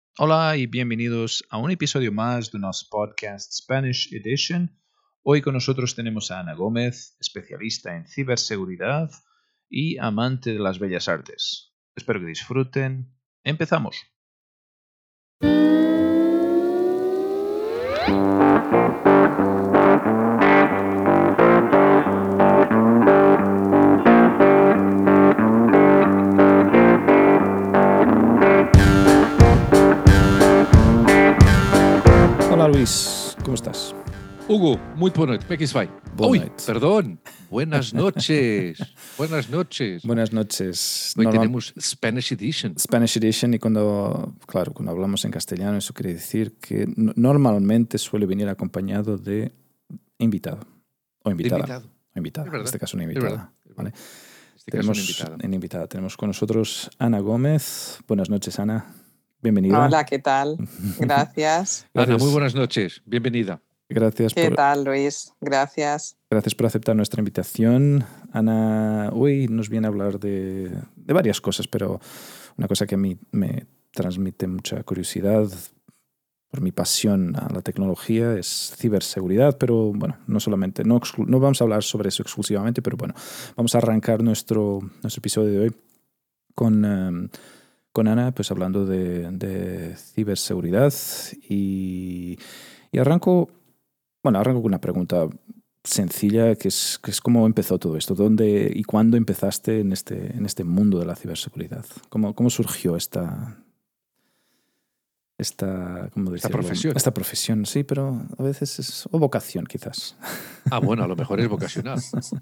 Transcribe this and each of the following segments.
Hola y bienvenidos a un episodio más de nuestro podcast Spanish Edition. Hoy con nosotros tenemos a Ana Gómez, especialista en ciberseguridad y amante de las bellas artes. Espero que disfruten. ¡Empezamos! Hola Luis, ¿cómo estás? Hugo, muy buena noche. ¿Cómo vai? Boa Uy, noite. perdón. Buenas noches. Buenas noches. Buenas noches. Hoy tenemos Spanish Edition. Spanish Edition y cuando hablamos en castellano eso quiere decir que normalmente suele venir acompañado de invitado o invitada. Invitado. O invitada, Es verdad, en este caso una es invitada. verdad. ¿Vale? En este caso una invitada. Tenemos con nosotros Ana Gómez. Buenas noches, Ana. Bienvenida. Hola, ¿qué tal? Gracias. Ana, muy buenas noches. Bienvenida. Gracias ¿Qué tal, Luis? Gracias. Gracias por aceptar nuestra invitación. Ana hoy nos viene a hablar de varias cosas, pero una cosa que a mí me transmite mucha curiosidad por mi pasión a la tecnología es ciberseguridad, pero bueno, no vamos a hablar sobre eso exclusivamente, pero bueno, vamos a arrancar nuestro episodio de hoy con Ana, pues hablando de ciberseguridad y arranco con una pregunta sencilla que es cómo empezó todo esto, dónde y cuándo empezaste en este mundo de la ciberseguridad, cómo surgió esta profesión. Esta profesión, sí, pero a veces o vocación quizás. Bueno, a lo mejor es vocacional.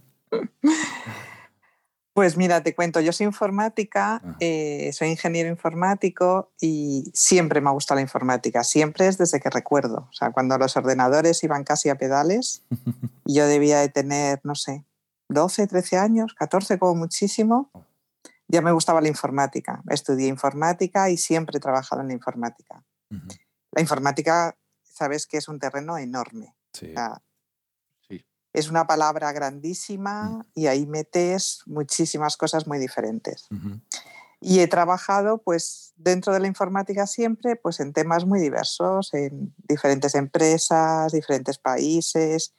Pues mira, te cuento, yo soy informática, soy ingeniero informático y siempre me ha gustado la informática, siempre es desde que recuerdo. O sea, cuando los ordenadores iban casi a pedales, yo debía de tener, no sé, 12, 13 años, 14 como muchísimo, ya me gustaba la informática. Estudié informática y siempre he trabajado en la informática. Uh-huh. La informática, sabes que es un terreno enorme. Sí. O sea, sí. Es una palabra grandísima y ahí metes muchísimas cosas muy diferentes. Uh-huh. Y he trabajado pues dentro de la informática siempre pues en temas muy diversos, en diferentes empresas, diferentes países.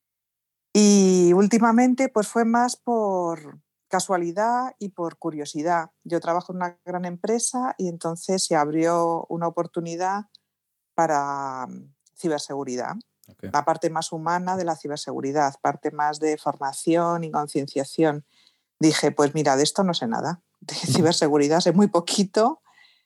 Y últimamente pues fue más por casualidad y por curiosidad. Yo trabajo en una gran empresa y entonces se abrió una oportunidad para ciberseguridad. Okay. La parte más humana de la ciberseguridad, parte más de formación y concienciación. Dije, pues mira, de esto no sé nada, de ciberseguridad sé muy poquito.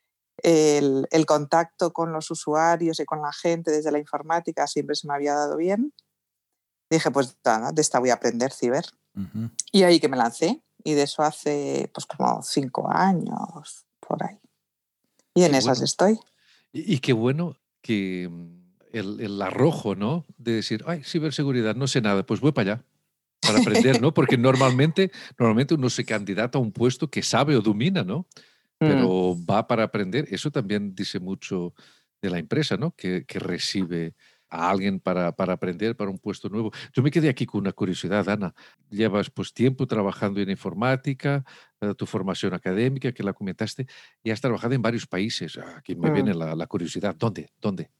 El contacto con los usuarios y con la gente desde la informática siempre se me había dado bien. Dije, pues nada, de esta voy a aprender ciber. Uh-huh. Y ahí que me lancé. Y de eso hace pues como 5 años, por ahí. Y en esas estoy. Y qué bueno que el arrojo, ¿no? De decir, ay, ciberseguridad, no sé nada, pues voy para allá. Para aprender, ¿no? Porque normalmente uno se candidata a un puesto que sabe o domina, ¿no? Pero va para aprender. Eso también dice mucho de la empresa, ¿no? Que recibe a alguien para aprender para un puesto nuevo. Yo me quedé aquí con una curiosidad, Ana. Llevas pues tiempo trabajando en informática, tu formación académica, que la comentaste, y has trabajado en varios países. Aquí me viene la curiosidad. ¿Dónde?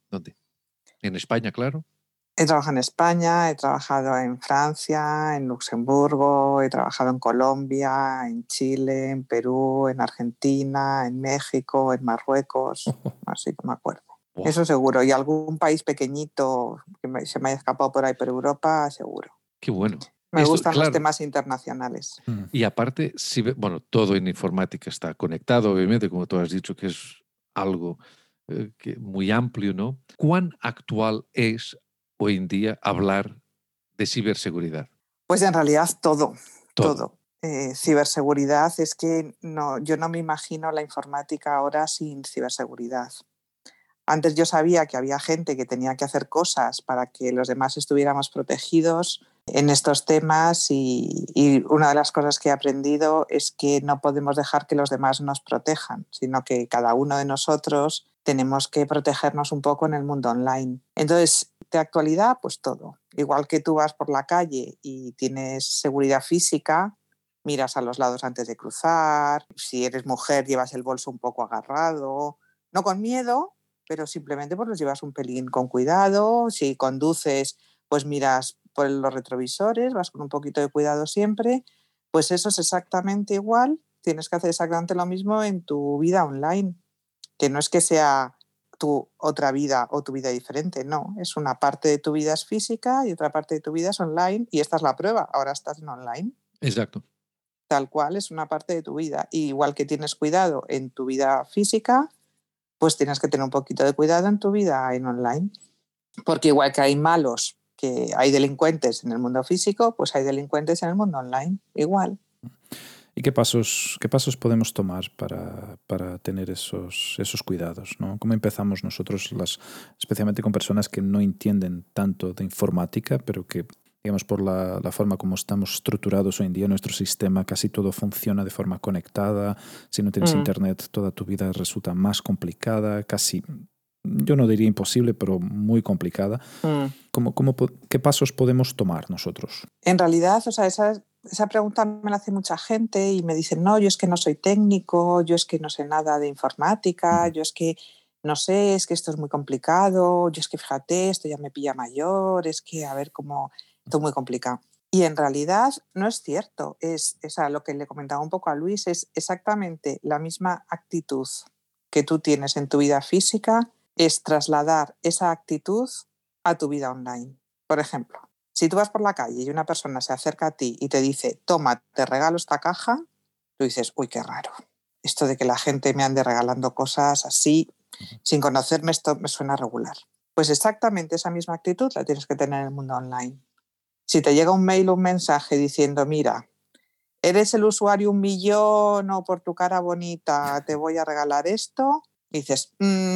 ¿En España, claro? He trabajado en España, he trabajado en Francia, en Luxemburgo, he trabajado en Colombia, en Chile, en Perú, en Argentina, en México, en Marruecos, así que me acuerdo. Wow. Eso seguro. Y algún país pequeñito que se me haya escapado por ahí por Europa, seguro. Qué bueno. Me gustan los temas internacionales. Y aparte, bueno, todo en informática está conectado, obviamente, como tú has dicho, que es algo muy amplio, ¿no? ¿Cuán actual es hoy en día hablar de ciberseguridad? Pues en realidad todo. Ciberseguridad es que yo no me imagino la informática ahora sin ciberseguridad. Antes yo sabía que había gente que tenía que hacer cosas para que los demás estuviéramos protegidos en estos temas y una de las cosas que he aprendido es que no podemos dejar que los demás nos protejan, sino que cada uno de nosotros tenemos que protegernos un poco en el mundo online. Entonces, de actualidad, pues todo. Igual que tú vas por la calle y tienes seguridad física, miras a los lados antes de cruzar, si eres mujer llevas el bolso un poco agarrado, no con miedo, pero simplemente pues los llevas un pelín con cuidado. Si conduces, pues miras por los retrovisores, vas con un poquito de cuidado siempre. Pues eso es exactamente igual. Tienes que hacer exactamente lo mismo en tu vida online, que no es que sea tu otra vida o tu vida diferente, no, es una parte de tu vida es física y otra parte de tu vida es online, y esta es la prueba, ahora estás en online. Exacto. Tal cual, es una parte de tu vida. Y igual que tienes cuidado en tu vida física, pues tienes que tener un poquito de cuidado en tu vida en online. Porque igual que hay malos, que hay delincuentes en el mundo físico, pues hay delincuentes en el mundo online, igual. ¿Y qué pasos podemos tomar para tener esos cuidados, ¿no? ¿Cómo empezamos nosotros, especialmente con personas que no entienden tanto de informática, pero que, digamos, por la forma como estamos estructurados hoy en día, nuestro sistema, casi todo funciona de forma conectada? Si no tienes internet, toda tu vida resulta más complicada, casi, yo no diría imposible, pero muy complicada. ¿Qué pasos podemos tomar nosotros? En realidad, o sea, esa pregunta me la hace mucha gente y me dicen, no, yo es que no soy técnico, yo es que no sé nada de informática, yo es que no sé, es que esto es muy complicado, yo es que fíjate, esto ya me pilla mayor, es que a ver cómo, esto es muy complicado. Y en realidad no es cierto, es lo que le comentaba un poco a Luis, es exactamente la misma actitud que tú tienes en tu vida física, es trasladar esa actitud a tu vida online. Por ejemplo, si tú vas por la calle y una persona se acerca a ti y te dice, toma, te regalo esta caja, tú dices, uy, qué raro. Esto de que la gente me ande regalando cosas así, sin conocerme, esto me suena regular. Pues exactamente esa misma actitud la tienes que tener en el mundo online. Si te llega un mail o un mensaje diciendo, mira, eres el usuario 1.000.000 o por tu cara bonita te voy a regalar esto, dices,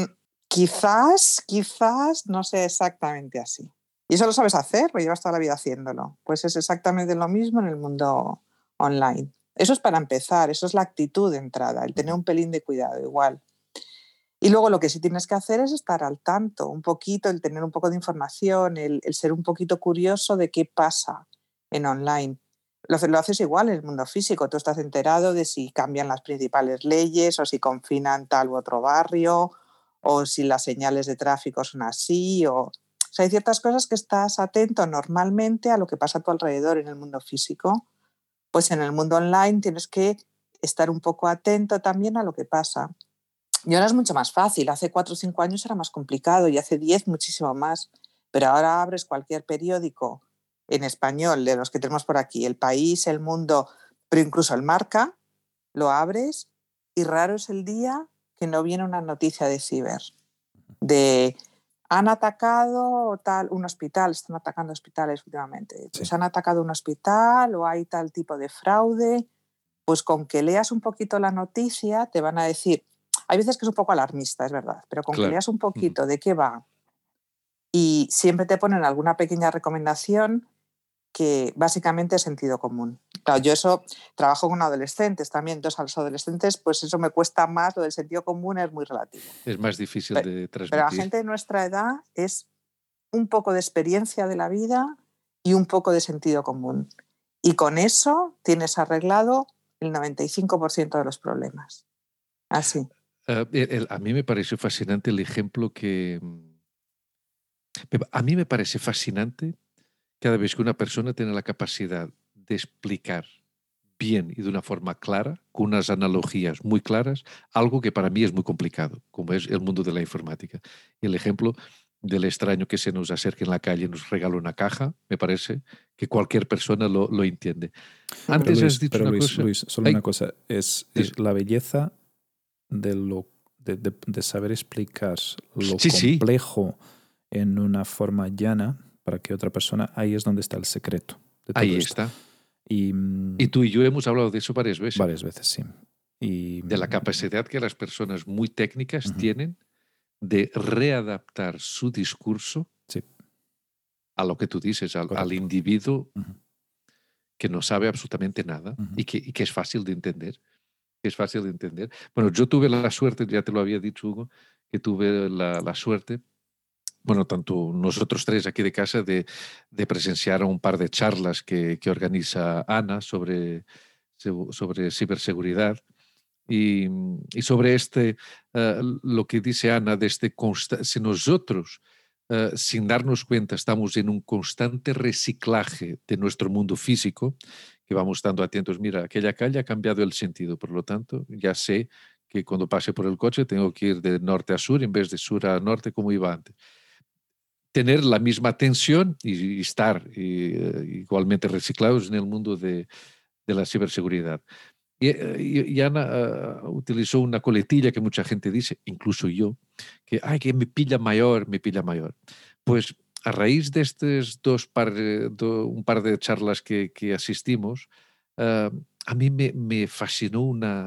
quizás no sea exactamente así. Y eso lo sabes hacer, lo llevas toda la vida haciéndolo. Pues es exactamente lo mismo en el mundo online. Eso es para empezar, eso es la actitud de entrada, el tener un pelín de cuidado igual. Y luego lo que sí tienes que hacer es estar al tanto, un poquito, el tener un poco de información, el ser un poquito curioso de qué pasa en online. Lo haces igual en el mundo físico, tú estás enterado de si cambian las principales leyes o si confinan tal u otro barrio o si las señales de tráfico son así o sea, hay ciertas cosas que estás atento normalmente a lo que pasa a tu alrededor en el mundo físico. Pues en el mundo online tienes que estar un poco atento también a lo que pasa. Y ahora es mucho más fácil. Hace 4 o 5 años era más complicado y hace 10 muchísimo más. Pero ahora abres cualquier periódico en español de los que tenemos por aquí, El País, El Mundo, pero incluso El Marca, lo abres y raro es el día que no viene una noticia de ciber, de han atacado un hospital, están atacando hospitales últimamente, pues sí. Han atacado un hospital o hay tal tipo de fraude, pues con que leas un poquito la noticia te van a decir, hay veces que es un poco alarmista, es verdad, pero con que leas un poquito de qué va y siempre te ponen alguna pequeña recomendación que básicamente es sentido común. Claro, yo eso trabajo con adolescentes también, entonces a los adolescentes pues eso me cuesta más, lo del sentido común es muy relativo. Es más difícil de transmitir. Pero la gente de nuestra edad es un poco de experiencia de la vida y un poco de sentido común. Y con eso tienes arreglado el 95% de los problemas. Así. A mí me pareció fascinante el ejemplo que... A mí me parece fascinante cada vez que una persona tiene la capacidad de explicar bien y de una forma clara, con unas analogías muy claras, algo que para mí es muy complicado, como es el mundo de la informática. Y el ejemplo del extraño que se nos acerca en la calle y nos regala una caja, me parece que cualquier persona lo entiende. Antes Luis, has dicho una cosa... Luis, solo una cosa, es la belleza de saber explicar lo complejo en una forma llana para que otra persona, ahí es donde está el secreto de todo ahí esto. está. Y tú y yo hemos hablado de eso varias veces. Varias veces, sí. De la capacidad que las personas muy técnicas tienen de readaptar su discurso a lo que tú dices, al individuo que no sabe absolutamente nada y que es fácil de entender. Es fácil de entender. Bueno, yo tuve la suerte, ya te lo había dicho, Hugo, que tuve la suerte, bueno, tanto nosotros tres aquí de casa, de presenciar un par de charlas que organiza Ana sobre ciberseguridad. Y sobre lo que dice Ana, de si nosotros, sin darnos cuenta, estamos en un constante reciclaje de nuestro mundo físico, que vamos estando atentos, mira, aquella calle ha cambiado el sentido, por lo tanto, ya sé que cuando pase por el coche tengo que ir de norte a sur en vez de sur a norte como iba antes. Tener la misma tensión y estar igualmente reciclados en el mundo de la ciberseguridad. Y Ana utilizó una coletilla que mucha gente dice, incluso yo, que me pilla mayor, me pilla mayor. Pues a raíz de estos un par de charlas que asistimos, a mí me fascinó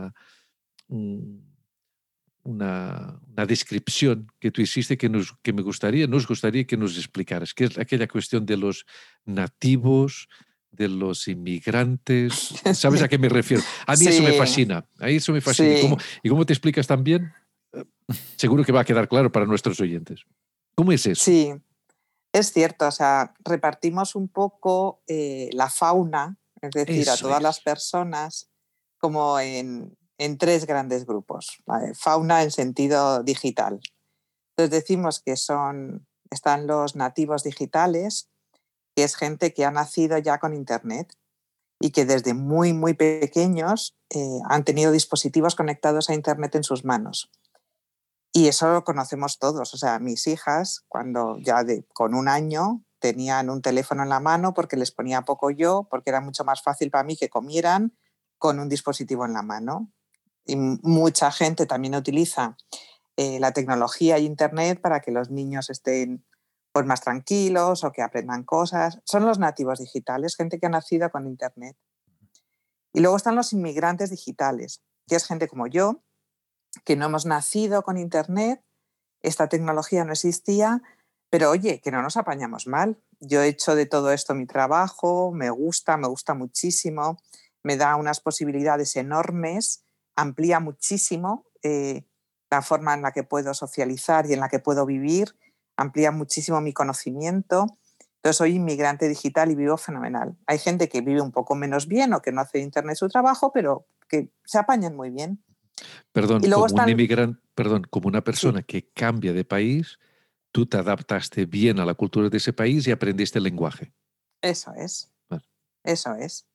una descripción que tú hiciste que nos gustaría que nos explicaras, que es aquella cuestión de los nativos, de los inmigrantes. ¿Sabes a qué me refiero? A mí eso me Sí, fascina, a eso me fascina. sí, ¿Y cómo te explicas también? Seguro que va a quedar claro para nuestros oyentes. ¿Cómo es eso? sí. Es cierto, o sea, repartimos un poco la fauna, es decir, a Eso todas las es. personas, como en tres grandes grupos. ¿Vale? Fauna en sentido digital. Entonces decimos que están los nativos digitales, que es gente que ha nacido ya con Internet y que desde muy, muy pequeños han tenido dispositivos conectados a Internet en sus manos. Y eso lo conocemos todos. O sea, mis hijas, cuando ya con 1 año, tenían un teléfono en la mano porque les ponía poco yo, porque era mucho más fácil para mí que comieran con un dispositivo en la mano. Y mucha gente también utiliza la tecnología y Internet para que los niños estén pues, más tranquilos o que aprendan cosas. Son los nativos digitales, gente que ha nacido con Internet. Y luego están los inmigrantes digitales, que es gente como yo, que no hemos nacido con Internet, esta tecnología no existía, pero oye, que no nos apañamos mal. Yo he hecho de todo esto mi trabajo, me gusta muchísimo, me da unas posibilidades enormes, amplía muchísimo la forma en la que puedo socializar y en la que puedo vivir, amplía muchísimo mi conocimiento. Entonces soy inmigrante digital y vivo fenomenal. Hay gente que vive un poco menos bien o que no hace de Internet su trabajo, pero que se apañan muy bien. Perdón, Y luego como un están... inmigrante, perdón, como una persona Sí, que cambia de país, tú te adaptaste bien a la cultura de ese país y aprendiste el lenguaje. eso es, Vale. eso es.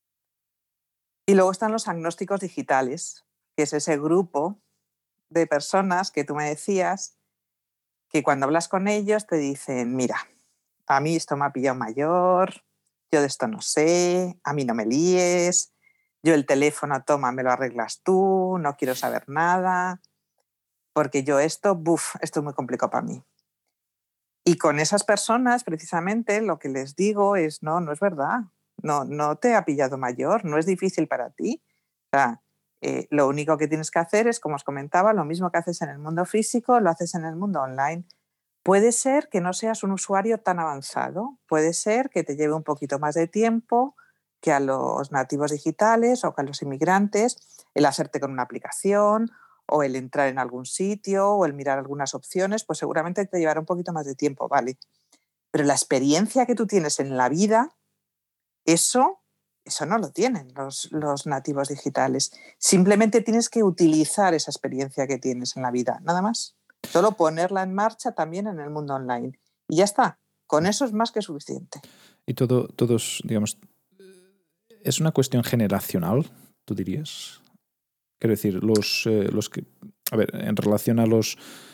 Y luego están los agnósticos digitales, que es ese grupo de personas que tú me decías que cuando hablas con ellos te dicen, mira, a mí esto me ha pillado mayor, yo de esto no sé, a mí no me líes, yo el teléfono, toma, me lo arreglas tú, no quiero saber nada, porque yo esto es muy complicado para mí. Y con esas personas, precisamente, lo que les digo es, no es verdad, no te ha pillado mayor, no es difícil para ti. O sea, lo único que tienes que hacer es, como os comentaba, lo mismo que haces en el mundo físico, lo haces en el mundo online. Puede ser que no seas un usuario tan avanzado, puede ser que te lleve un poquito más de tiempo que a los nativos digitales o que a los inmigrantes el hacerte con una aplicación o el entrar en algún sitio o el mirar algunas opciones, pues seguramente te llevará un poquito más de tiempo, ¿vale? Pero la experiencia que tú tienes en la vida, eso no lo tienen los nativos digitales. Simplemente tienes que utilizar esa experiencia que tienes en la vida, nada más. Solo ponerla en marcha también en el mundo online. Y ya está. Con eso es más que suficiente. Y todos, digamos, ¿es una cuestión generacional, tú dirías? Quiero decir, los que, a ver, en relación a los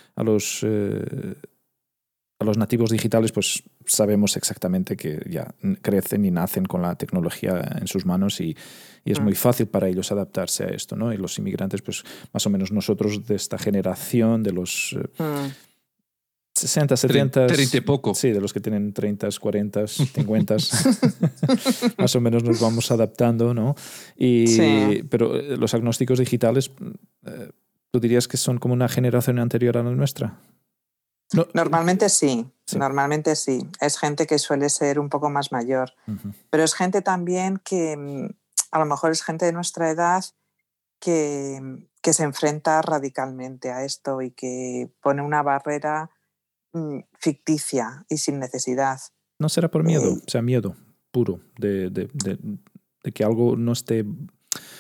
nativos digitales, pues sabemos exactamente que ya crecen y nacen con la tecnología en sus manos y es muy fácil para ellos adaptarse a esto, ¿no? Y los inmigrantes, pues más o menos nosotros de esta generación, de los 60, 70, 30 y poco. sí, de los que tienen 30, 40, 50, más o menos nos vamos adaptando, ¿no? Sí. Pero los agnósticos digitales, ¿tú dirías que son como una generación anterior a la nuestra? No. Normalmente sí, normalmente sí. Es gente que suele ser un poco más mayor, pero es gente también que a lo mejor es gente de nuestra edad que se enfrenta radicalmente a esto y que pone una barrera ficticia y sin necesidad. ¿No será por miedo? O sea, miedo puro de que algo no esté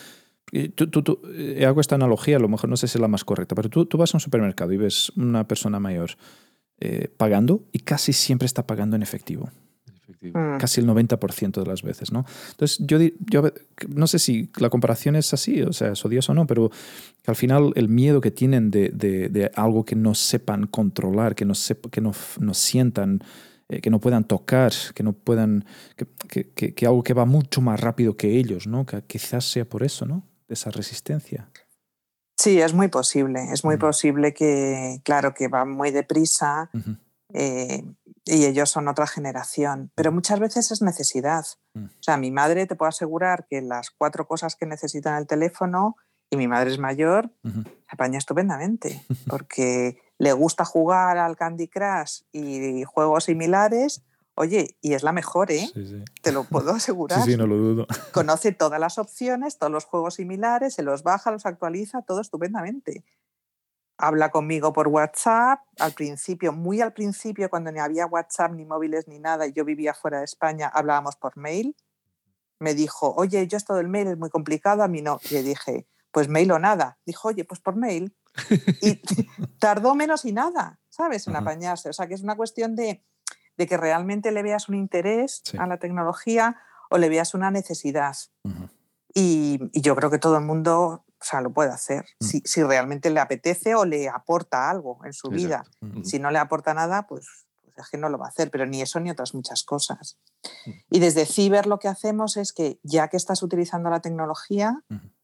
Hago esta analogía, a lo mejor no sé si es la más correcta, pero tú vas a un supermercado y ves una persona mayor pagando y casi siempre está pagando en efectivo. Casi el 90% de las veces, ¿no? Entonces, yo no sé si la comparación es así, o sea, es odioso o no, pero que al final el miedo que tienen de algo que no sepan controlar, que no sientan, que no puedan tocar, que no puedan, que algo que va mucho más rápido que ellos, ¿no? Que quizás sea por eso, ¿no? Esa resistencia. Sí, es muy posible. Es muy posible que, claro, que va muy deprisa. Y ellos son otra generación, pero muchas veces es necesidad. O sea, mi madre, te puedo asegurar que las 4 cosas que necesita en el teléfono, y mi madre es mayor, se apaña estupendamente, porque le gusta jugar al Candy Crush y juegos similares. Oye, y es la mejor, ¿eh? Sí. Te lo puedo asegurar. Sí, no lo dudo. Conoce todas las opciones, todos los juegos similares, se los baja, los actualiza, todo estupendamente. Habla conmigo por WhatsApp, al principio, muy al principio, cuando ni había WhatsApp, ni móviles, ni nada, y yo vivía fuera de España, hablábamos por mail. Me dijo, oye, yo esto del mail es muy complicado, a mí no. Y le dije, pues mail o nada. Dijo, oye, pues por mail. Y tardó menos y nada, ¿sabes? En apañarse. O sea, que es una cuestión de que realmente le veas un interés a la tecnología o le veas una necesidad. Y yo creo que todo el mundo, o sea, lo puede hacer si realmente le apetece o le aporta algo en su vida. Si no le aporta nada, pues es que no lo va a hacer, pero ni eso ni otras muchas cosas. Y desde Ciber lo que hacemos es que ya que estás utilizando la tecnología,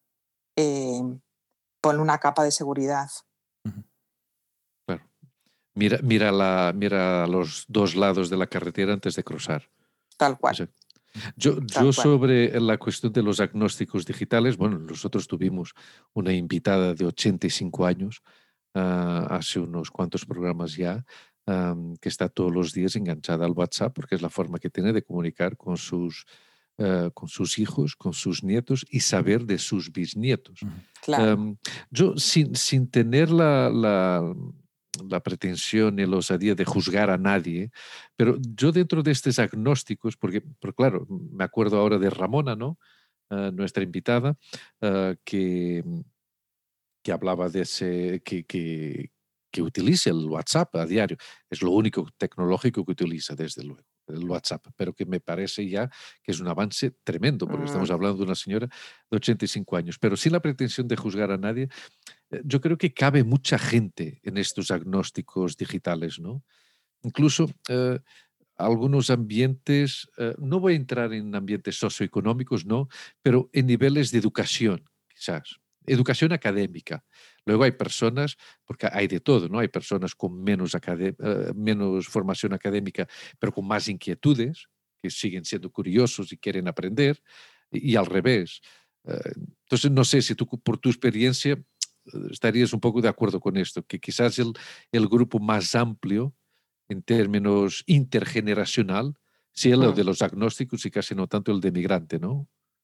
ponle una capa de seguridad. Claro. Mira los 2 lados de la carretera antes de cruzar. Tal cual. O sea, yo sobre la cuestión de los agnósticos digitales, bueno, nosotros tuvimos una invitada de 85 años hace unos cuantos programas ya, que está todos los días enganchada al WhatsApp porque es la forma que tiene de comunicar con sus hijos, con sus nietos y saber de sus bisnietos. Claro. Yo sin tener la pretensión y la osadía de juzgar a nadie, pero yo dentro de estos agnósticos, porque claro, me acuerdo ahora de Ramona, ¿no? Nuestra invitada, que hablaba de ese, que utiliza el WhatsApp a diario. Es lo único tecnológico que utiliza, desde luego, el WhatsApp, pero que me parece ya que es un avance tremendo, porque estamos hablando de una señora de 85 años, pero sin la pretensión de juzgar a nadie. Yo creo que cabe mucha gente en estos agnósticos digitales, ¿no? Incluso algunos ambientes, no voy a entrar en ambientes socioeconómicos, ¿no? Pero en niveles de educación, quizás. Educación académica. Luego hay personas, porque hay de todo, ¿no? Hay personas con menos formación académica, pero con más inquietudes, que siguen siendo curiosos y quieren aprender, y al revés. Entonces, no sé si tú, por tu experiencia, estarías un poco de acuerdo con esto, que quizás el grupo más amplio en términos intergeneracional sea lo de los agnósticos y casi no tanto el de migrante, ¿no?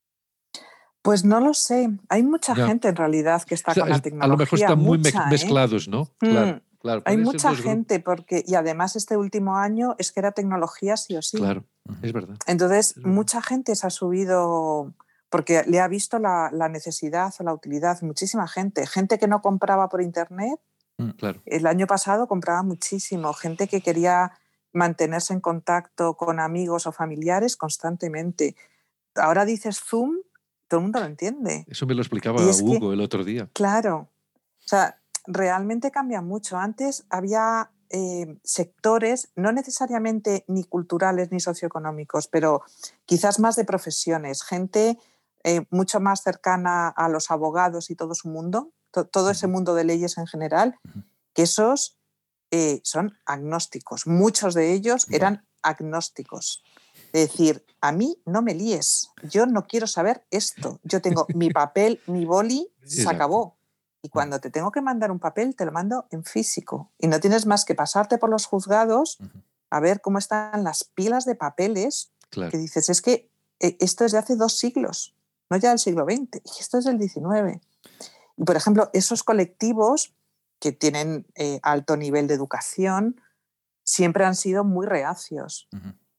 Pues no lo sé. Hay mucha gente en realidad que está con la tecnología. A lo mejor están muy mucha, mezclados, ¿no? Claro. Hay mucha gente y además este último año es que era tecnología sí o sí. Claro, es verdad. Entonces, mucha gente se ha subido porque le ha visto la necesidad o la utilidad. Muchísima gente. Gente que no compraba por internet. Claro. El año pasado compraba muchísimo. Gente que quería mantenerse en contacto con amigos o familiares constantemente. Ahora dices Zoom, todo el mundo lo entiende. Eso me lo explicaba Hugo el otro día. Claro. O sea, realmente cambia mucho. Antes había sectores, no necesariamente ni culturales ni socioeconómicos, pero quizás más de profesiones, gente mucho más cercana a los abogados y todo su mundo, todo ese mundo de leyes en general, que esos son agnósticos. Muchos de ellos eran agnósticos. Es decir, a mí no me líes, yo no quiero saber esto. Yo tengo mi papel, mi boli, se acabó. Y cuando te tengo que mandar un papel, te lo mando en físico. Y no tienes más que pasarte por los juzgados a ver cómo están las pilas de papeles. Claro. Que dices, es que esto es de hace 2 siglos, no ya del siglo XX, y esto es del XIX. Y, por ejemplo, esos colectivos que tienen alto nivel de educación siempre han sido muy reacios.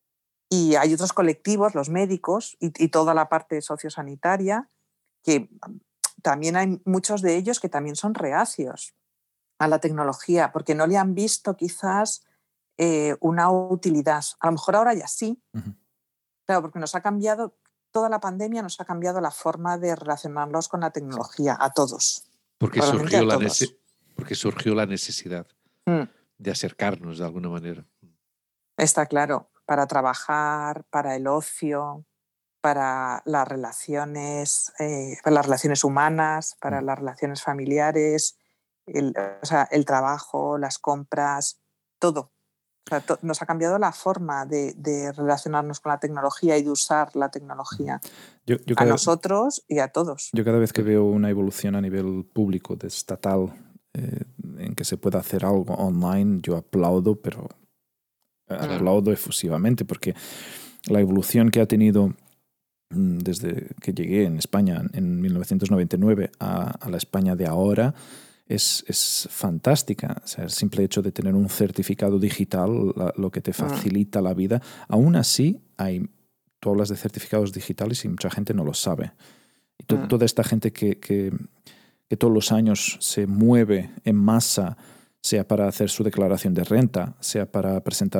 Y hay otros colectivos, los médicos y toda la parte sociosanitaria, que también hay muchos de ellos que también son reacios a la tecnología, porque no le han visto quizás una utilidad. A lo mejor ahora ya sí, claro, porque nos ha cambiado, toda la pandemia nos ha cambiado la forma de relacionarnos con la tecnología, a todos. Porque Realmente surgió, a todos. porque surgió la necesidad de acercarnos de alguna manera. Está claro, para trabajar, para el ocio, para las relaciones humanas, para las relaciones familiares, el trabajo, las compras, todo. O sea, nos ha cambiado la forma de relacionarnos con la tecnología y de usar la tecnología a nosotros y a todos. Yo cada vez que veo una evolución a nivel público, estatal, en que se pueda hacer algo online, yo aplaudo, pero aplaudo efusivamente, porque la evolución que ha tenido desde que llegué en España en 1999 a la España de ahora es fantástica. O sea, el simple hecho de tener un certificado digital, lo que te facilita la vida. Aún así, tú hablas de certificados digitales y mucha gente no lo sabe. Y toda esta gente que todos los años se mueve en masa, sea para hacer su declaración de renta, sea para presentar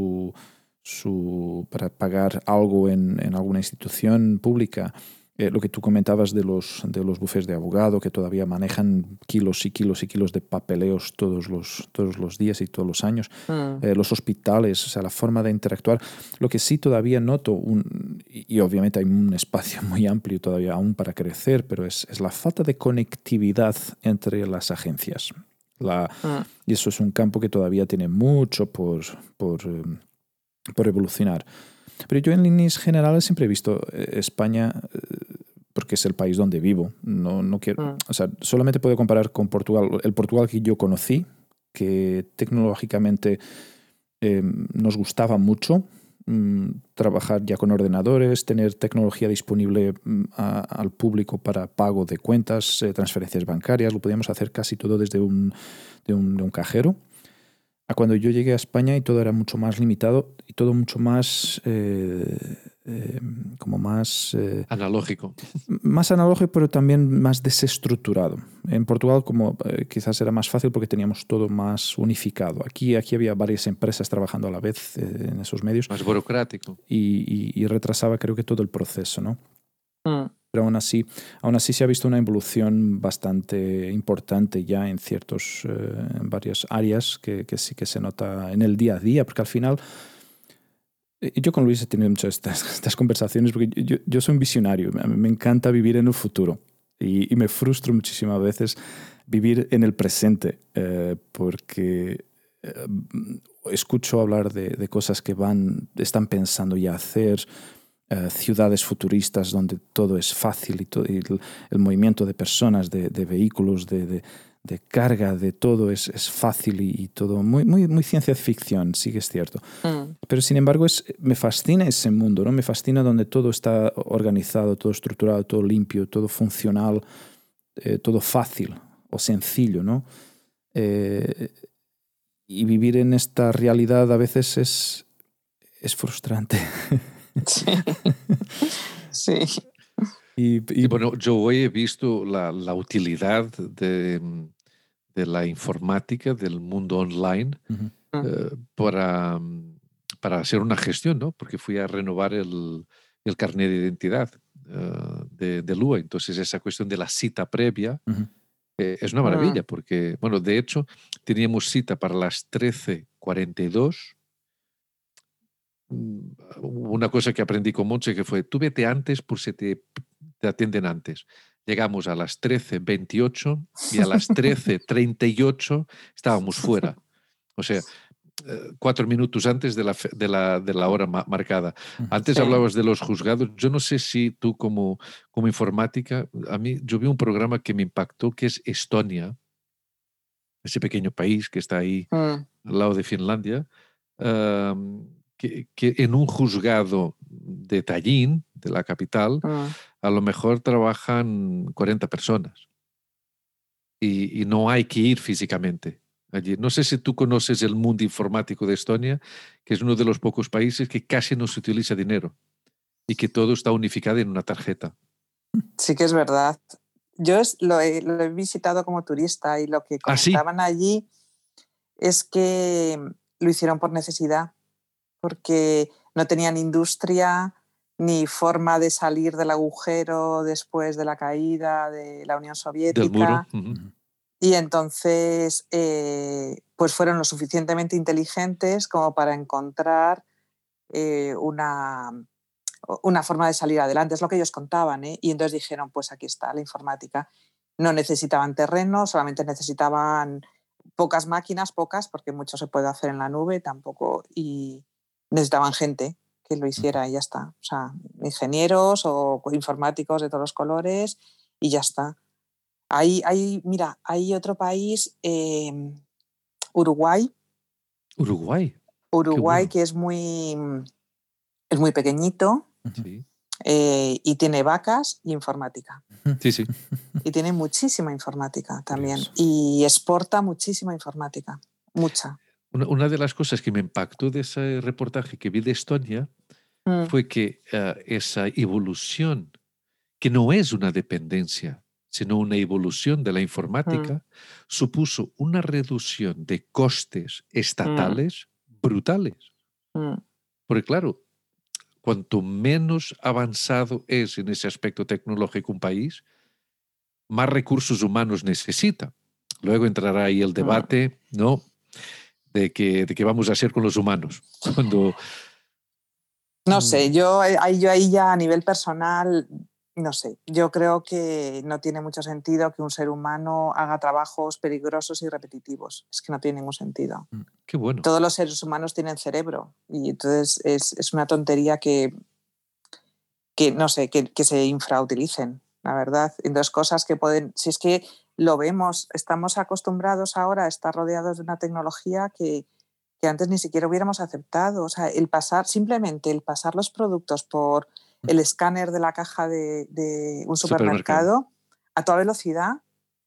para pagar algo en alguna institución pública, lo que tú comentabas de los bufés de abogado, que todavía manejan kilos y kilos y kilos de papeleos todos los días y todos los años, los hospitales, o sea, la forma de interactuar. Lo que sí todavía noto, y obviamente hay un espacio muy amplio todavía aún para crecer, pero es la falta de conectividad entre las agencias. Y eso es un campo que todavía tiene mucho por evolucionar. Pero yo en líneas generales siempre he visto España, porque es el país donde vivo. No quiero, o sea, solamente puedo comparar con Portugal. El Portugal que yo conocí, que tecnológicamente nos gustaba mucho, trabajar ya con ordenadores, tener tecnología disponible al público para pago de cuentas, transferencias bancarias, lo podíamos hacer casi todo desde un cajero. A cuando yo llegué a España y todo era mucho más limitado y todo mucho más analógico. Más analógico, pero también más desestructurado. En Portugal quizás era más fácil porque teníamos todo más unificado. Aquí había varias empresas trabajando a la vez en esos medios. Más burocrático. Y retrasaba creo que todo el proceso, ¿no? Pero aún así se ha visto una evolución bastante importante ya en varias áreas que sí que se nota en el día a día, porque al final yo con Luis he tenido muchas estas conversaciones porque yo soy un visionario, me encanta vivir en el futuro y me frustro muchísimas veces vivir en el presente porque escucho hablar de cosas que están pensando ya hacer, ciudades futuristas donde todo es fácil y el movimiento de personas, de vehículos, de carga, de todo es fácil y todo muy, muy, muy ciencia ficción, sí que es cierto. Pero sin embargo me fascina ese mundo, ¿no? Me fascina donde todo está organizado, todo estructurado, todo limpio, todo funcional, todo fácil o sencillo, ¿no? Y vivir en esta realidad a veces es frustrante. Sí. Y bueno, yo hoy he visto la utilidad de la informática, del mundo online, para hacer una gestión, ¿no? Porque fui a renovar el carnet de identidad de Lua. Entonces, esa cuestión de la cita previa es una maravilla, porque, bueno, de hecho, teníamos cita para las 13:42. Una cosa que aprendí con Monse que fue, tú vete antes por si te atienden antes. Llegamos a las 13:28 y a las 13:38 estábamos fuera. O sea, 4 minutos antes de la hora marcada. Antes hablabas de los juzgados. Yo no sé si tú como informática, yo vi un programa que me impactó que es Estonia, ese pequeño país que está ahí al lado de Finlandia, que en un juzgado de Tallinn, de la capital, a lo mejor trabajan 40 personas y no hay que ir físicamente allí. No sé si tú conoces el mundo informático de Estonia, que es uno de los pocos países que casi no se utiliza dinero y que todo está unificado en una tarjeta. Sí que es verdad. Lo he visitado como turista y lo que ¿Ah, sí? comentaban allí es que lo hicieron por necesidad, porque no tenían industria ni forma de salir del agujero después de la caída de la Unión Del muro. Soviética. Y entonces pues fueron lo suficientemente inteligentes como para encontrar una forma de salir adelante. Es lo que ellos contaban, ¿eh? Y entonces dijeron, pues aquí está la informática. No necesitaban terreno, solamente necesitaban pocas máquinas, porque mucho se puede hacer en la nube tampoco, y necesitaban gente que lo hiciera y ya está. O sea, ingenieros o informáticos de todos los colores y ya está. Mira, hay otro país, Uruguay. Uruguay. Uruguay, que es muy pequeñito. Sí. Y tiene vacas y informática. Sí, sí. Y tiene muchísima informática también. Curioso. Y exporta muchísima informática. Mucha. Una de las cosas que me impactó de ese reportaje que vi de Estonia fue que esa evolución, que no es una dependencia, sino una evolución de la informática, supuso una reducción de costes estatales brutales. Porque claro, cuanto menos avanzado es en ese aspecto tecnológico un país, más recursos humanos necesita. Luego entrará ahí el debate, ¿no?, de qué vamos a hacer con los humanos. No sé, yo ahí ya a nivel personal, no sé. Yo creo que no tiene mucho sentido que un ser humano haga trabajos peligrosos y repetitivos. Es que no tiene ningún sentido. Qué bueno. Todos los seres humanos tienen cerebro y entonces es una tontería que no sé, que se infrautilicen, la verdad. Entonces, cosas que pueden... Si es que lo vemos, estamos acostumbrados ahora a estar rodeados de una tecnología que antes ni siquiera hubiéramos aceptado. O sea, simplemente el pasar los productos por el escáner de la caja de un supermercado a toda velocidad.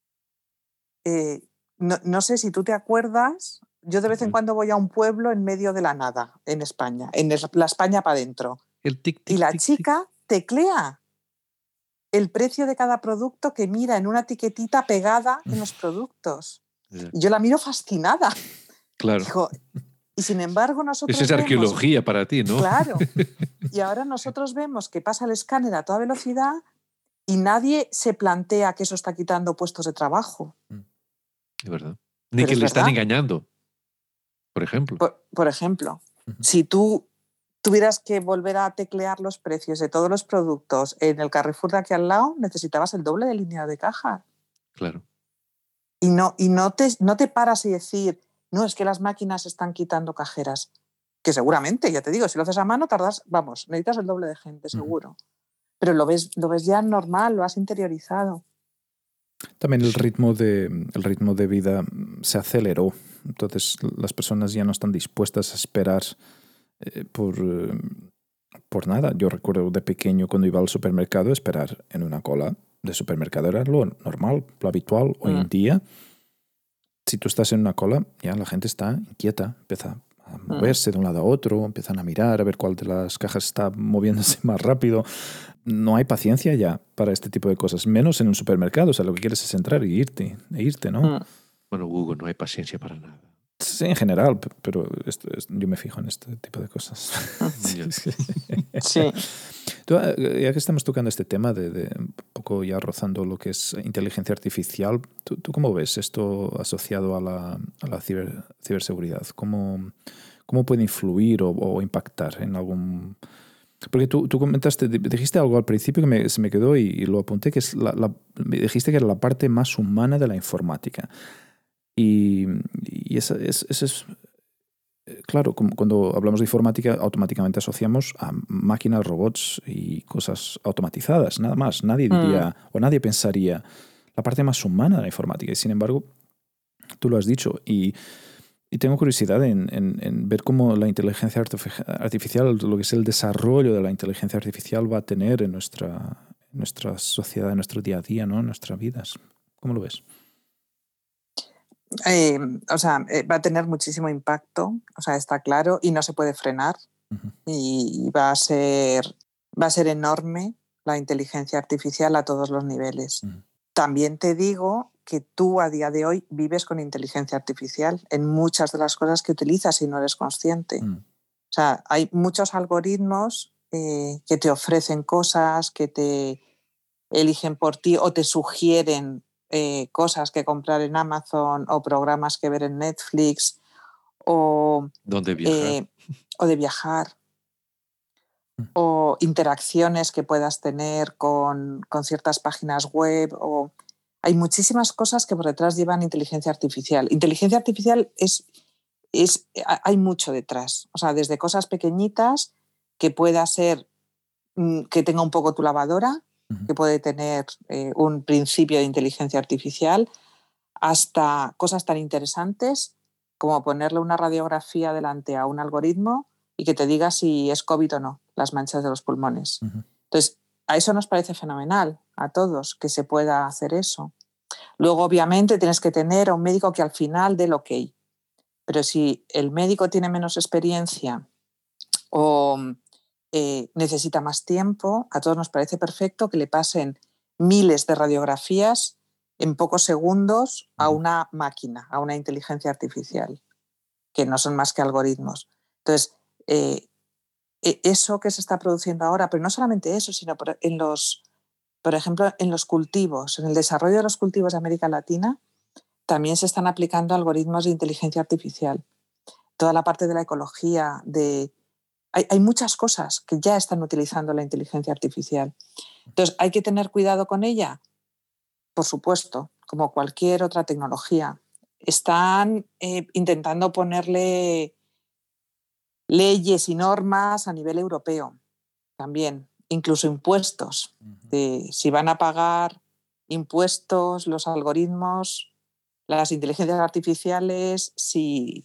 No sé si tú te acuerdas, yo de vez en cuando voy a un pueblo en medio de la nada, en España, en la España para adentro. El tic, tic, y la tic, chica teclea el precio de cada producto que mira en una etiquetita pegada en los productos. Y yo la miro fascinada. Claro. Digo, y sin embargo nosotros Esa es arqueología para ti, ¿no? Claro. Y ahora nosotros vemos que pasa el escáner a toda velocidad y nadie se plantea que eso está quitando puestos de trabajo. Es verdad. Ni que le están engañando, por ejemplo. Por ejemplo, si tú tuvieras que volver a teclear los precios de todos los productos en el Carrefour de aquí al lado, necesitabas el doble de línea de caja. Claro. Y no te paras y decir, no, es que las máquinas están quitando cajeras. Que seguramente, ya te digo, si lo haces a mano necesitas el doble de gente, seguro. Pero lo ves ya normal, lo has interiorizado. También el ritmo de vida se aceleró. Entonces las personas ya no están dispuestas a esperar por nada. Yo recuerdo de pequeño cuando iba al supermercado esperar en una cola de supermercado era lo normal, lo habitual. Hoy en día, si tú estás en una cola, ya la gente está inquieta, empieza a moverse de un lado a otro, empiezan a mirar a ver cuál de las cajas está moviéndose más rápido. No hay paciencia ya para este tipo de cosas, menos en un supermercado. O sea, lo que quieres es entrar e irte, ¿no? Bueno, Hugo, no hay paciencia para nada. Sí, en general, pero yo me fijo en este tipo de cosas. Sí. Tú, ya que estamos tocando este tema de un poco ya rozando lo que es inteligencia artificial, ¿tú cómo ves esto asociado a la ciberseguridad? ¿Cómo puede influir o impactar en algún...? Porque tú dijiste algo al principio que se me quedó y lo apunté, que es me dijiste que era la parte más humana de la informática. Y eso es... Claro, cuando hablamos de informática, automáticamente asociamos a máquinas, robots y cosas automatizadas, nada más. Nadie diría o nadie pensaría la parte más humana de la informática. Y sin embargo, tú lo has dicho. Y tengo curiosidad en ver cómo la inteligencia artificial, lo que es el desarrollo de la inteligencia artificial va a tener en nuestra sociedad, en nuestro día a día, ¿no? En nuestras vidas. ¿Cómo lo ves? Va a tener muchísimo impacto, está claro, y no se puede frenar. Y va a ser enorme la inteligencia artificial a todos los niveles. También te digo que tú a día de hoy vives con inteligencia artificial en muchas de las cosas que utilizas y no eres consciente. O sea, hay muchos algoritmos que te ofrecen cosas, que te eligen por ti o te sugieren cosas que comprar en Amazon o programas que ver en Netflix o, ¿Dónde viajar? O de viajar o interacciones que puedas tener con ciertas páginas web. Hay muchísimas cosas que por detrás llevan inteligencia artificial. Inteligencia artificial hay mucho detrás. O sea, desde cosas pequeñitas que pueda ser que tenga un poco tu lavadora, que puede tener un principio de inteligencia artificial, hasta cosas tan interesantes como ponerle una radiografía delante a un algoritmo y que te diga si es COVID o no, las manchas de los pulmones. Entonces, a eso nos parece fenomenal, a todos, que se pueda hacer eso. Luego, obviamente, tienes que tener a un médico que al final dé el ok. Pero si el médico tiene menos experiencia o necesita más tiempo, a todos nos parece perfecto que le pasen miles de radiografías en pocos segundos a una máquina, a una inteligencia artificial, que no son más que algoritmos. Entonces, eso que se está produciendo ahora, pero no solamente eso, sino por ejemplo, en los cultivos, en el desarrollo de los cultivos de América Latina, también se están aplicando algoritmos de inteligencia artificial. Toda la parte de la ecología, hay muchas cosas que ya están utilizando la inteligencia artificial. Entonces, ¿hay que tener cuidado con ella? Por supuesto, como cualquier otra tecnología. Están intentando ponerle leyes y normas a nivel europeo también, incluso impuestos. Si van a pagar impuestos los algoritmos, las inteligencias artificiales, si...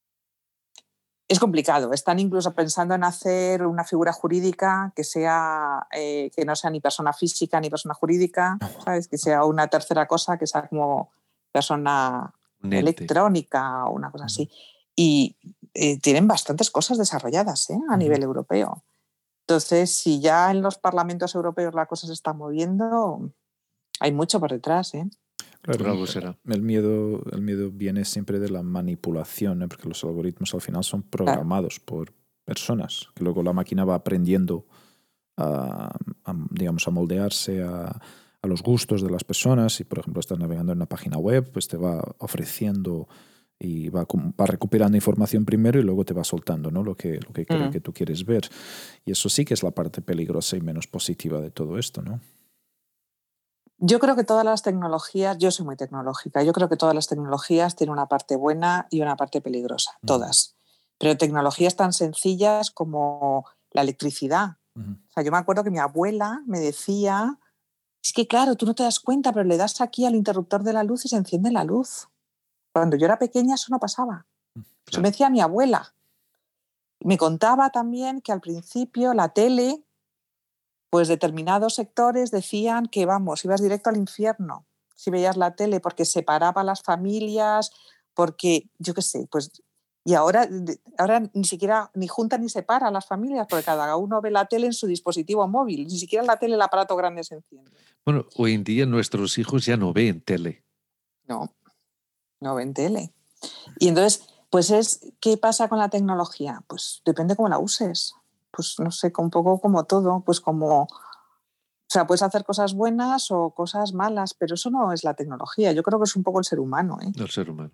Es complicado. Están incluso pensando en hacer una figura jurídica que no sea ni persona física ni persona jurídica, ¿sabes? Que sea una tercera cosa, que sea como persona electrónica o una cosa así. Y tienen bastantes cosas desarrolladas a nivel europeo. Entonces, si ya en los parlamentos europeos la cosa se está moviendo, hay mucho por detrás. Claro, el miedo viene siempre de la manipulación, porque los algoritmos al final son programados por personas, que luego la máquina va aprendiendo digamos, a moldearse a los gustos de las personas. Si, por ejemplo, estás navegando en una página web, pues te va ofreciendo y va recuperando información primero y luego te va soltando, ¿no? lo que cree que tú quieres ver. Y eso sí que es la parte peligrosa y menos positiva de todo esto, ¿no? Yo creo que todas las tecnologías, yo soy muy tecnológica, yo creo que todas las tecnologías tienen una parte buena y una parte peligrosa, todas. Pero tecnologías tan sencillas como la electricidad. O sea, yo me acuerdo que mi abuela me decía, es que claro, tú no te das cuenta, pero le das aquí al interruptor de la luz y se enciende la luz. Cuando yo era pequeña eso no pasaba. Claro. Eso me decía mi abuela. Me contaba también que al principio la tele, pues determinados sectores decían que, vamos, ibas directo al infierno si veías la tele, porque separaba a las familias, porque, yo qué sé, pues... Y ahora ni siquiera ni junta ni separa a las familias, porque cada uno ve la tele en su dispositivo móvil, ni siquiera la tele, el aparato grande se enciende. Bueno, hoy en día nuestros hijos ya no ven tele. No ven tele. Y entonces, pues ¿qué pasa con la tecnología? Pues depende cómo la uses. Pues no sé, un poco como todo, pues como... O sea, puedes hacer cosas buenas o cosas malas, pero eso no es la tecnología. Yo creo que es un poco el ser humano. El ser humano.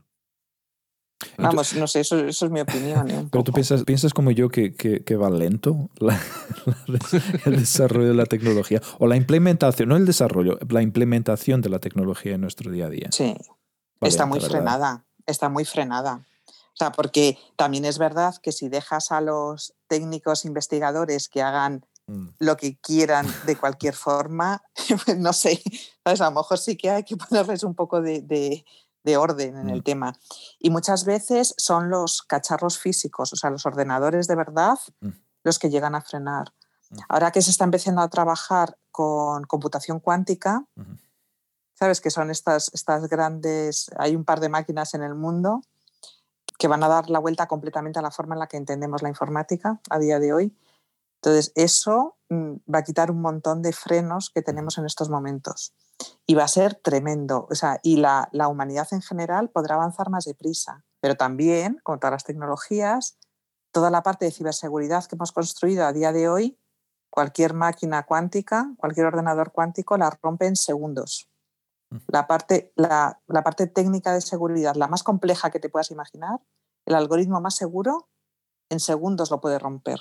Vamos, no sé, eso es mi opinión. Pero tú piensas como yo que va lento el desarrollo de la tecnología o la implementación, no el desarrollo, la implementación de la tecnología en nuestro día a día. Sí, está muy frenada, está muy frenada. O sea, porque también es verdad que si dejas a los técnicos investigadores que hagan lo que quieran de cualquier forma, pues no sé, ¿sabes? A lo mejor sí que hay que ponerles un poco de orden en el tema. Y muchas veces son los cacharros físicos, o sea, los ordenadores de verdad, los que llegan a frenar. Ahora que se está empezando a trabajar con computación cuántica, ¿sabes? Que son estas grandes, hay un par de máquinas en el mundo que van a dar la vuelta completamente a la forma en la que entendemos la informática a día de hoy. Entonces, eso va a quitar un montón de frenos que tenemos en estos momentos. Y va a ser tremendo. O sea, y la humanidad en general podrá avanzar más deprisa. Pero también, con todas las tecnologías, toda la parte de ciberseguridad que hemos construido a día de hoy, cualquier máquina cuántica, cualquier ordenador cuántico la rompe en segundos. La parte técnica de seguridad, la más compleja que te puedas imaginar, el algoritmo más seguro, en segundos lo puede romper.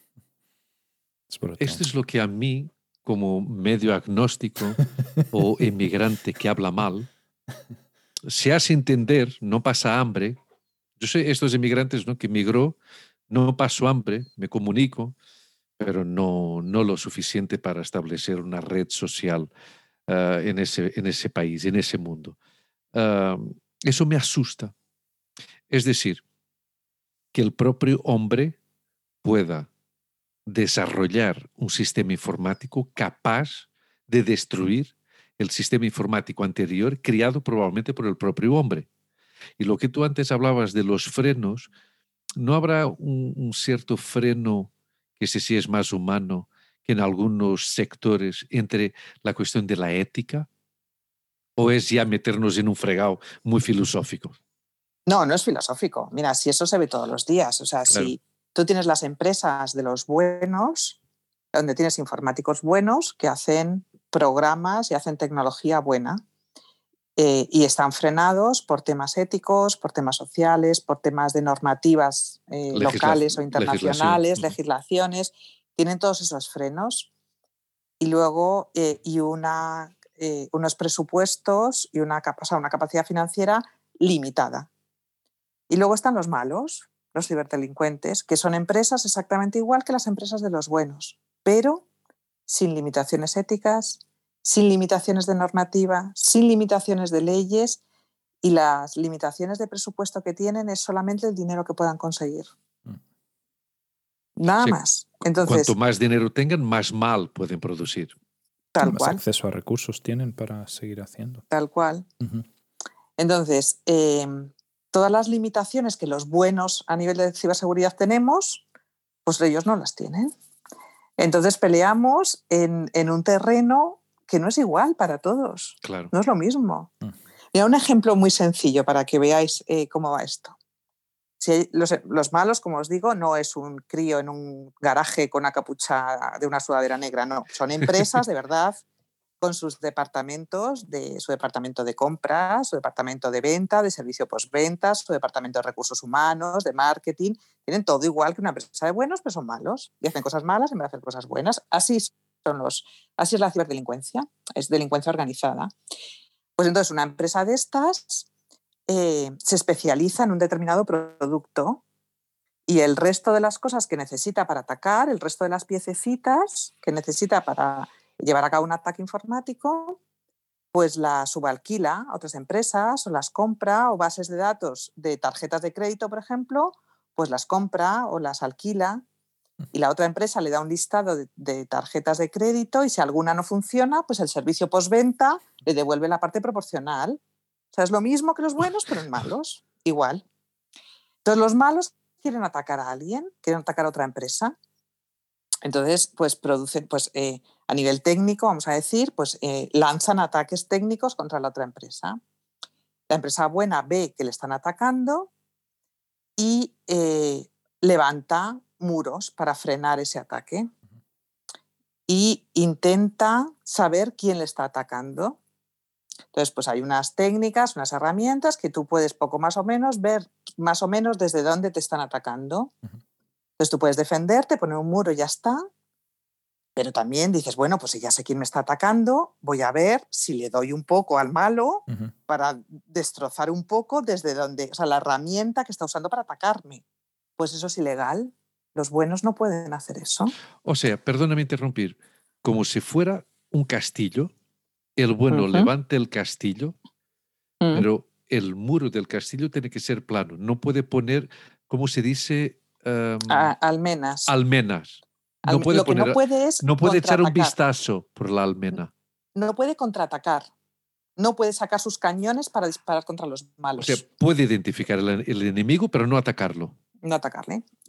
Esto es lo que a mí, como medio agnóstico o inmigrante que habla mal, se hace entender, no pasa hambre. Yo sé estos inmigrantes, ¿no?, que migró, no pasó hambre, me comunico, pero no lo suficiente para establecer una red social en ese país, en ese mundo. Eso me asusta. Es decir, que el propio hombre pueda desarrollar un sistema informático capaz de destruir el sistema informático anterior creado probablemente por el propio hombre. Y lo que tú antes hablabas de los frenos, ¿no habrá un cierto freno que ese sí es más humano que en algunos sectores entre la cuestión de la ética? ¿O es ya meternos en un fregado muy filosófico? No, no es filosófico. Mira, si eso se ve todos los días. O sea, Claro. si tú tienes las empresas de los buenos, donde tienes informáticos buenos que hacen programas y hacen tecnología buena, y están frenados por temas éticos, por temas sociales, por temas de normativas locales o internacionales, legislaciones, tienen todos esos frenos. Y luego unos presupuestos y una capacidad financiera limitada. Y luego están los malos, los ciberdelincuentes, que son empresas exactamente igual que las empresas de los buenos, pero sin limitaciones éticas, sin limitaciones de normativa, sin limitaciones de leyes, y las limitaciones de presupuesto que tienen es solamente el dinero que puedan conseguir. Nada más. Entonces, cuanto más dinero tengan, más mal pueden producir. Tal más cual. acceso a recursos tienen para seguir haciendo. Tal cual. Uh-huh. Entonces, todas las limitaciones que los buenos a nivel de ciberseguridad tenemos, pues ellos no las tienen. Entonces peleamos en un terreno que no es igual para todos. Claro. No es lo mismo. Mira, un ejemplo muy sencillo para que veáis cómo va esto. Si los malos, como os digo, no es un crío en un garaje con una capucha de una sudadera negra, no. Son empresas de verdad con sus departamentos, su departamento de compras, su departamento de venta, de servicio postventa, su departamento de recursos humanos, de marketing. Tienen todo igual que una empresa de buenos, pero son malos y hacen cosas malas en vez de hacer cosas buenas. Así es la ciberdelincuencia, es delincuencia organizada. Pues entonces una empresa de estas se especializa en un determinado producto y el resto de las cosas que necesita para atacar, el resto de las piececitas que necesita para llevar a cabo un ataque informático, pues las subalquila a otras empresas o las compra, o bases de datos de tarjetas de crédito, por ejemplo, pues las compra o las alquila, y la otra empresa le da un listado de tarjetas de crédito y si alguna no funciona, pues el servicio postventa le devuelve la parte proporcional. O sea, es lo mismo que los buenos, pero en malos, igual. Entonces los malos quieren atacar a alguien, quieren atacar a otra empresa. Entonces, pues producen, a nivel técnico, vamos a decir, pues lanzan ataques técnicos contra la otra empresa. La empresa buena ve que le están atacando y levanta muros para frenar ese ataque y intenta saber quién le está atacando. Entonces, pues hay unas técnicas, unas herramientas que tú puedes poco más o menos ver más o menos desde dónde te están atacando. Entonces tú puedes defenderte, poner un muro y ya está. Pero también dices, bueno, pues si ya sé quién me está atacando, voy a ver si le doy un poco al malo para destrozar un poco desde donde, o sea, la herramienta que está usando para atacarme. Pues eso es ilegal. Los buenos no pueden hacer eso. O sea, perdóname interrumpir, como si fuera un castillo, el bueno levanta el castillo, pero el muro del castillo tiene que ser plano. No puede poner, ¿cómo se dice? Almenas. Almenas. No puede lo que poner, no puede es no puede echar un vistazo por la almena. No puede contraatacar. No puede sacar sus cañones para disparar contra los malos. O sea, puede identificar el enemigo, pero no atacarlo. No atacarle.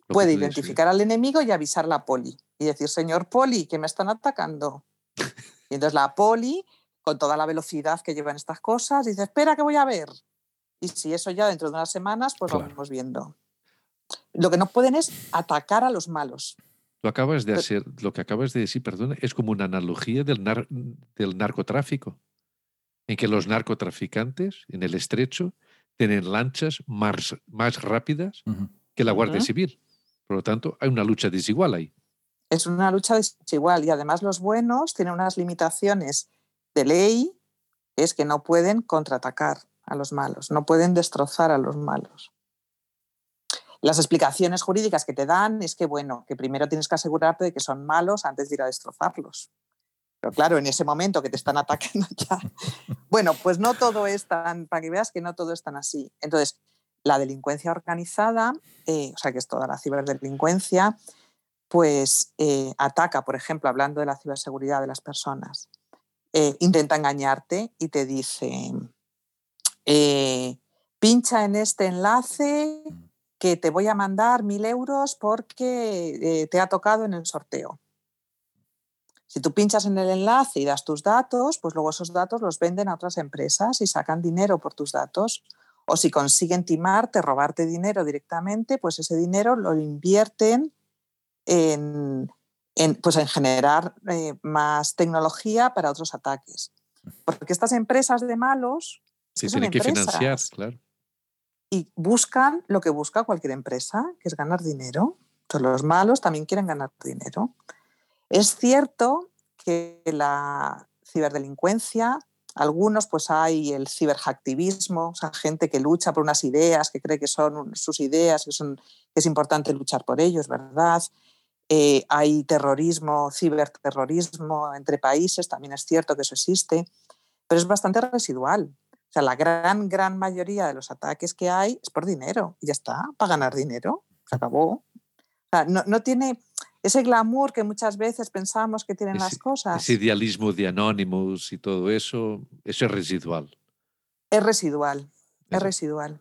puede identificar al enemigo y avisar a la poli. Y decir, señor poli, que me están atacando. Y entonces la poli, con toda la velocidad que llevan estas cosas, dice, espera que voy a ver. Y si eso ya dentro de unas semanas, pues lo vamos viendo. Lo que no pueden es atacar a los malos. Lo que acabas de decir, perdón, es como una analogía del narcotráfico, en que los narcotraficantes en el estrecho tienen lanchas más rápidas que la Guardia Civil. Por lo tanto, hay una lucha desigual ahí. Es una lucha desigual y además los buenos tienen unas limitaciones de ley, que es que no pueden contraatacar a los malos, no pueden destrozar a los malos. Las explicaciones jurídicas que te dan es que, bueno, que primero tienes que asegurarte de que son malos antes de ir a destrozarlos. Pero claro, en ese momento que te están atacando ya... Bueno, pues no todo es tan... Para que veas que no todo es tan así. Entonces, la delincuencia organizada, o sea, que es toda la ciberdelincuencia, pues ataca, por ejemplo, hablando de la ciberseguridad de las personas, intenta engañarte y te dice, pincha en este enlace que te voy a mandar 1.000 euros porque te ha tocado en el sorteo. Si tú pinchas en el enlace y das tus datos, pues luego esos datos los venden a otras empresas y sacan dinero por tus datos. O si consiguen timarte, robarte dinero directamente, pues ese dinero lo invierten en generar más tecnología para otros ataques. Porque estas empresas de malos sí, tienen que financiar, claro. Y buscan lo que busca cualquier empresa, que es ganar dinero. Entonces los malos también quieren ganar dinero. Es cierto que la ciberdelincuencia, algunos pues hay el ciberhacktivismo, o sea, gente que lucha por unas ideas, que cree que son sus ideas, que es importante luchar por ellos, ¿verdad? Hay terrorismo, ciberterrorismo entre países, también es cierto que eso existe, pero es bastante residual. O sea, la gran mayoría de los ataques que hay es por dinero y ya está, para ganar dinero, se acabó. O sea, no tiene ese glamour que muchas veces pensamos que tienen las cosas. Ese idealismo de Anonymous y todo eso es residual. Es residual, es residual.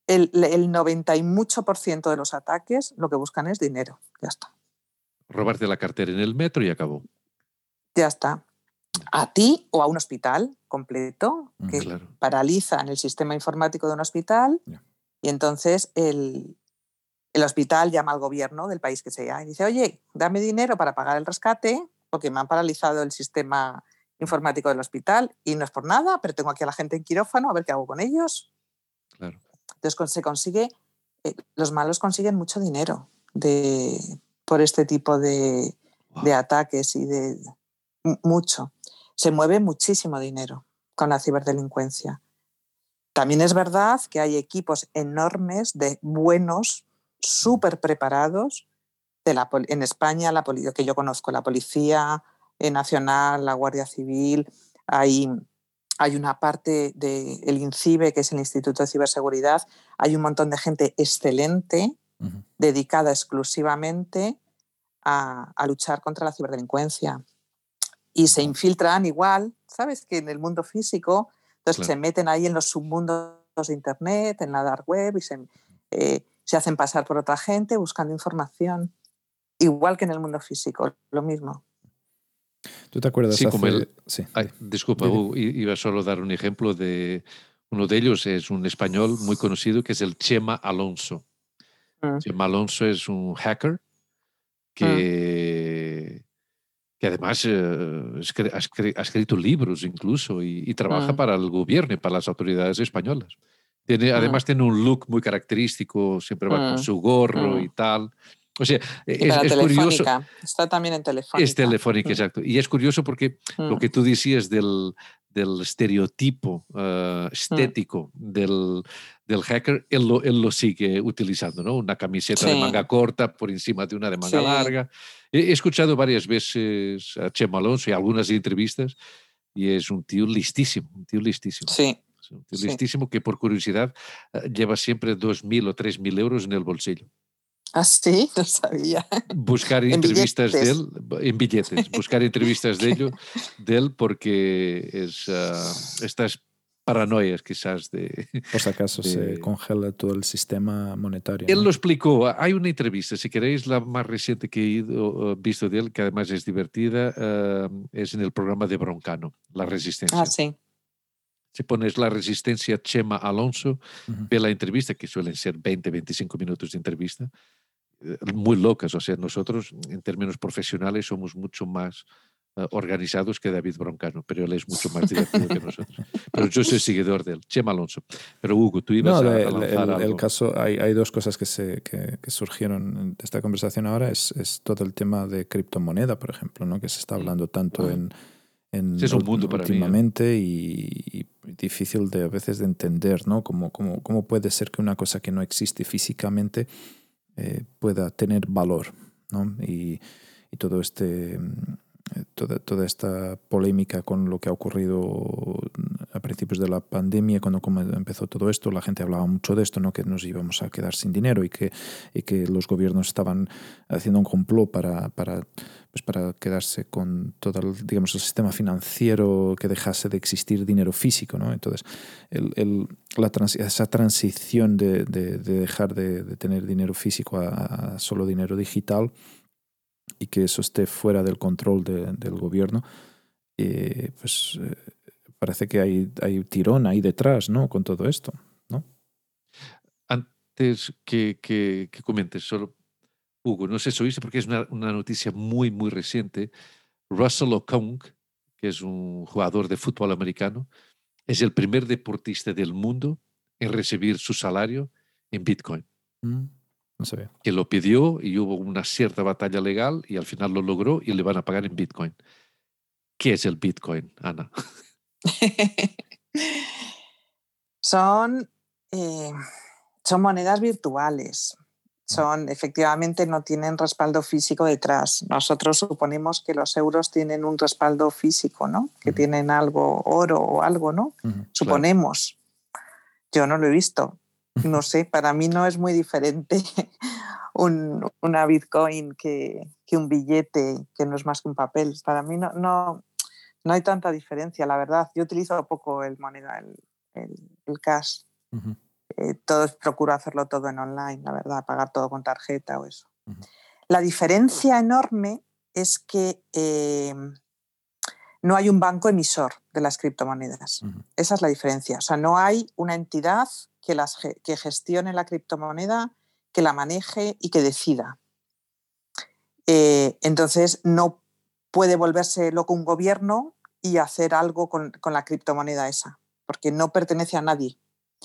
El 90 y mucho % de los ataques lo que buscan es dinero, ya está. Robarte la cartera en el metro y acabó. Ya está. A ti o a un hospital completo que claro. paralizan el sistema informático de un hospital y entonces el hospital llama al gobierno del país que sea y dice, oye, dame dinero para pagar el rescate porque me han paralizado el sistema informático del hospital y no es por nada, pero tengo aquí a la gente en quirófano, a ver qué hago con ellos. Claro. Entonces se consigue, los malos consiguen mucho dinero por este tipo de ataques y de mucho. Se mueve muchísimo dinero con la ciberdelincuencia. También es verdad que hay equipos enormes de buenos, súper preparados. En España, que yo conozco, la Policía Nacional, la Guardia Civil, hay una parte del INCIBE, que es el Instituto de Ciberseguridad, hay un montón de gente excelente, dedicada exclusivamente a luchar contra la ciberdelincuencia. Y se infiltran igual, ¿sabes? Que en el mundo físico, entonces se meten ahí en los submundos de Internet, en la dark web, y se hacen pasar por otra gente buscando información, igual que en el mundo físico, lo mismo. ¿Tú te acuerdas? Sí, como disculpa, iba solo a dar un ejemplo de uno de ellos, es un español muy conocido que es el Chema Alonso. Chema Alonso es un hacker que además ha escrito libros incluso y trabaja para el gobierno y para las autoridades españolas. Además tiene un look muy característico, siempre va con su gorro y tal. O sea, es curioso. Está también en Telefónica. Es Telefónica, exacto. Y es curioso porque lo que tú decías del estereotipo estético del hacker, él lo sigue utilizando, ¿no? Una camiseta de manga corta por encima de una de manga larga. He escuchado varias veces a Chema Alonso y algunas entrevistas y es un tío listísimo, Sí. Es un tío listísimo que por curiosidad lleva siempre 2.000 o 3.000 euros en el bolsillo. ¿Ah, sí? No sabía. Buscar entrevistas de él en billetes, buscar entrevistas de él porque estas paranoias quizás Por si acaso se congela todo el sistema monetario. Él lo explicó. Hay una entrevista, si queréis, la más reciente que he visto de él, que además es divertida, es en el programa de Broncano, La Resistencia. Ah, sí. Si pones La Resistencia Chema Alonso, ve la entrevista, que suelen ser 20-25 minutos de entrevista, muy locas. O sea, nosotros en términos profesionales somos mucho más organizados que David Broncano, pero él es mucho más divertido que nosotros. Pero yo soy seguidor de él, Chema Alonso. Pero Hugo, tú ibas a lanzar algo. El caso, hay dos cosas que surgieron de esta conversación ahora, es todo el tema de criptomoneda, por ejemplo, ¿no? Que se está hablando tanto en es un mundo para últimamente mí, y difícil a veces de entender, ¿no? Cómo puede ser que una cosa que no existe físicamente pueda tener valor, ¿no? Y todo toda esta polémica con lo que ha ocurrido a principios de la pandemia, cuando empezó todo esto, la gente hablaba mucho de esto, ¿no? Que nos íbamos a quedar sin dinero y que los gobiernos estaban haciendo un complot para quedarse con todo el sistema financiero, que dejase de existir dinero físico, ¿no? Entonces, esa transición de dejar de tener dinero físico a solo dinero digital, y que eso esté fuera del control del gobierno, parece que hay tirón ahí detrás, ¿no? Con todo esto, ¿no? Antes que comentes, solo, Hugo, no sé si oíste, porque es una noticia muy, muy reciente. Russell Okung, que es un jugador de fútbol americano, es el primer deportista del mundo en recibir su salario en Bitcoin. No sabía. Que lo pidió y hubo una cierta batalla legal y al final lo logró y le van a pagar en Bitcoin. ¿Qué es el Bitcoin, Ana? Son monedas virtuales. Efectivamente, no tienen respaldo físico detrás. Nosotros suponemos que los euros tienen un respaldo físico, ¿no? Que tienen algo, oro o algo, ¿no? Suponemos. Claro. Yo no lo he visto. No sé, para mí no es muy diferente una Bitcoin que un billete, que no es más que un papel. Para mí no hay tanta diferencia, la verdad. Yo utilizo poco el moneda, el cash. Procuro hacerlo todo en online, la verdad, pagar todo con tarjeta o eso. La diferencia enorme es que no hay un banco emisor de las criptomonedas. Esa es la diferencia. O sea, no hay una entidad que gestione la criptomoneda, que la maneje y que decida. Entonces, no puede volverse loco un gobierno y hacer algo con la criptomoneda esa, porque no pertenece a nadie.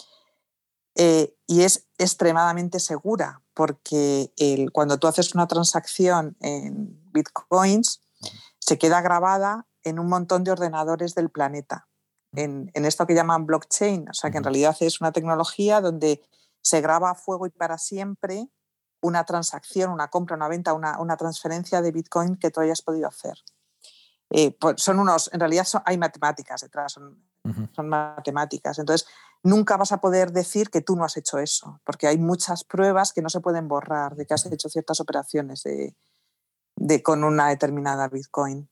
Y es extremadamente segura, porque cuando tú haces una transacción en bitcoins, se queda grabada en un montón de ordenadores del planeta, en esto que llaman blockchain. O sea, que en realidad es una tecnología donde se graba a fuego y para siempre una transacción, una compra, una venta, una transferencia de bitcoin que tú hayas podido hacer. Pues en realidad hay matemáticas detrás, son matemáticas. Entonces, nunca vas a poder decir que tú no has hecho eso, porque hay muchas pruebas que no se pueden borrar de que has hecho ciertas operaciones con una determinada Bitcoin.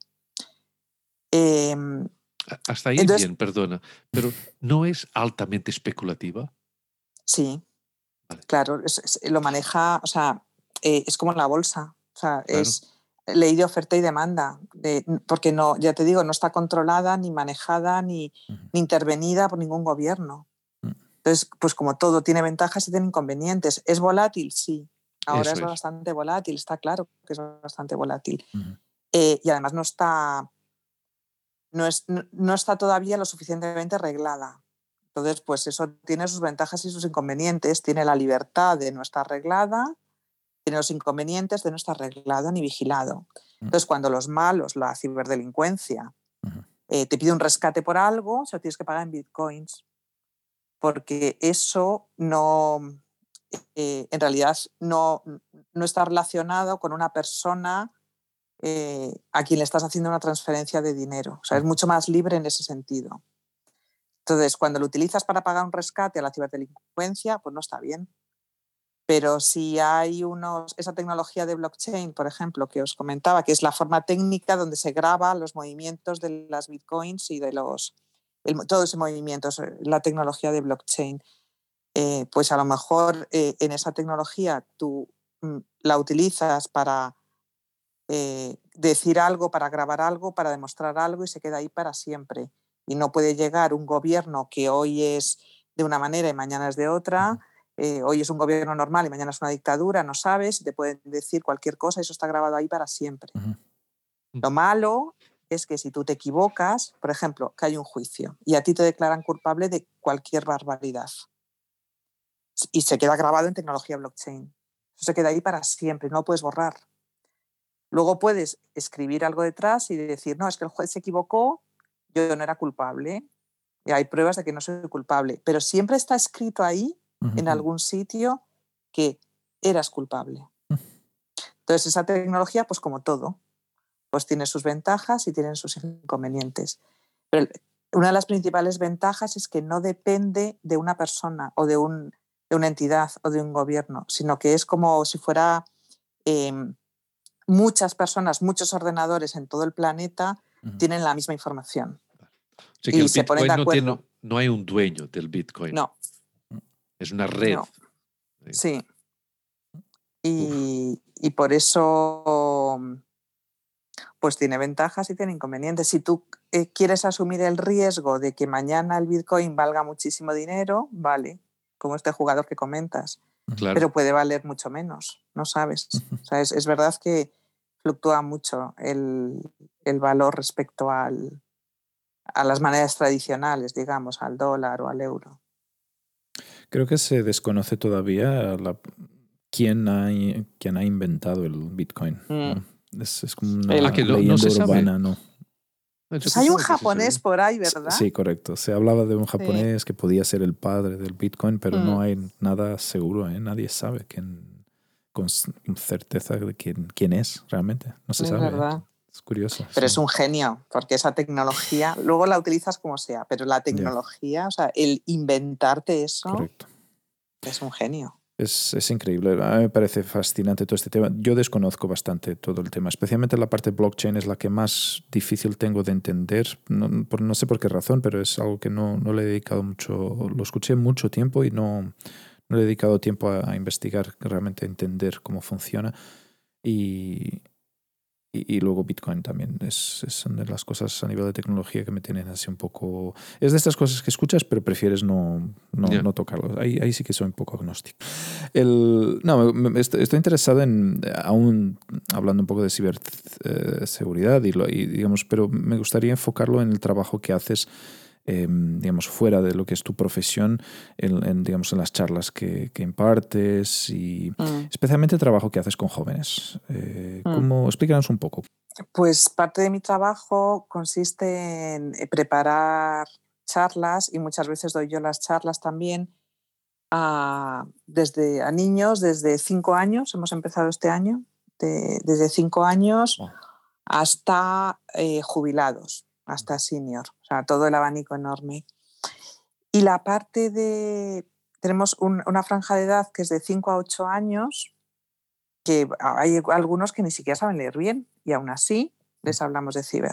Hasta ahí entonces, bien, perdona, pero ¿no es altamente especulativa? Sí, vale. Claro, lo maneja, o sea, es como la bolsa, o sea, claro. Es ley de oferta y demanda, porque no, ya te digo, no está controlada, ni manejada, ni intervenida por ningún gobierno. Entonces, pues como todo, tiene ventajas y tiene inconvenientes. ¿Es volátil? Sí. Ahora es bastante volátil, está claro que es bastante volátil. Y además no está todavía lo suficientemente reglada. Entonces, pues eso tiene sus ventajas y sus inconvenientes. Tiene la libertad de no estar reglada, tiene los inconvenientes de no estar reglado ni vigilado. Entonces, cuando los malos, la ciberdelincuencia, te pide un rescate por algo, se lo tienes que pagar en bitcoins. Porque eso no, en realidad no está relacionado con una persona a quien le estás haciendo una transferencia de dinero. O sea, es mucho más libre en ese sentido. Entonces, cuando lo utilizas para pagar un rescate a la ciberdelincuencia, pues no está bien. Pero si hay esa tecnología de blockchain, por ejemplo, que os comentaba, que es la forma técnica donde se graba los movimientos de las bitcoins y de los todo ese movimiento, la tecnología de blockchain. Pues a lo mejor en esa tecnología tú la utilizas para decir algo, para grabar algo, para demostrar algo y se queda ahí para siempre. Y no puede llegar un gobierno que hoy es de una manera y mañana es de otra, hoy es un gobierno normal y mañana es una dictadura, no sabes, te pueden decir cualquier cosa y eso está grabado ahí para siempre. Lo malo es que si tú te equivocas, por ejemplo, que hay un juicio y a ti te declaran culpable de cualquier barbaridad y se queda grabado en tecnología blockchain. Eso se queda ahí para siempre, no lo puedes borrar. Luego puedes escribir algo detrás y decir, no, es que el juez se equivocó, yo no era culpable, y hay pruebas de que no soy culpable, pero siempre está escrito ahí, en algún sitio, que eras culpable. Entonces esa tecnología, pues como todo, pues tiene sus ventajas y tiene sus inconvenientes. Pero una de las principales ventajas es que no depende de una persona o de una entidad o de un gobierno, sino que es como si fuera muchas personas, muchos ordenadores en todo el planeta tienen la misma información. O sea que y el se ponen de Bitcoin acuerdo. no hay un dueño del Bitcoin. No. Es una red. No. Sí. Y por eso pues tiene ventajas y tiene inconvenientes. Si tú quieres asumir el riesgo de que mañana el Bitcoin valga muchísimo dinero, vale, como este jugador que comentas, Claro. pero puede valer mucho menos, no sabes. O sea, es verdad que fluctúa mucho el valor respecto a las monedas tradicionales, digamos, al dólar o al euro. Creo que se desconoce todavía quién ha inventado el Bitcoin, ¿no? Es como una leyenda urbana, ¿no? Pues hay un japonés por ahí, ¿verdad? Sí, correcto. Se hablaba de un japonés que podía ser el padre del Bitcoin, pero no hay nada seguro, ¿eh? Nadie sabe con certeza de quién es realmente. No se sabe. Verdad. Es curioso. Pero es un genio, porque esa tecnología, luego la utilizas como sea, pero la tecnología, o sea, el inventarte eso, correcto, es un genio. Es increíble. A mí me parece fascinante todo este tema. Yo desconozco bastante todo el tema, especialmente la parte blockchain es la que más difícil tengo de entender. No sé por qué razón, pero es algo que no le he dedicado mucho. Lo escuché mucho tiempo y no le he dedicado tiempo a investigar, realmente a entender cómo funciona. Y luego Bitcoin también son de las cosas a nivel de tecnología que me tienen así un poco... Es de estas cosas que escuchas pero prefieres no tocarlo. Ahí sí que soy un poco agnóstico. Estoy interesado en, aún hablando un poco de ciberseguridad, digamos, pero me gustaría enfocarlo en el trabajo que haces digamos, fuera de lo que es tu profesión, digamos, en las charlas que impartes y especialmente el trabajo que haces con jóvenes. Explícanos un poco. Pues parte de mi trabajo consiste en preparar charlas y muchas veces doy yo las charlas también a niños desde 5 años, hemos empezado este año, desde 5 años hasta jubilados, hasta senior, o sea, todo el abanico enorme. Y la parte tenemos una franja de edad que es de 5 a 8 años, que hay algunos que ni siquiera saben leer bien y aún así les hablamos de ciber.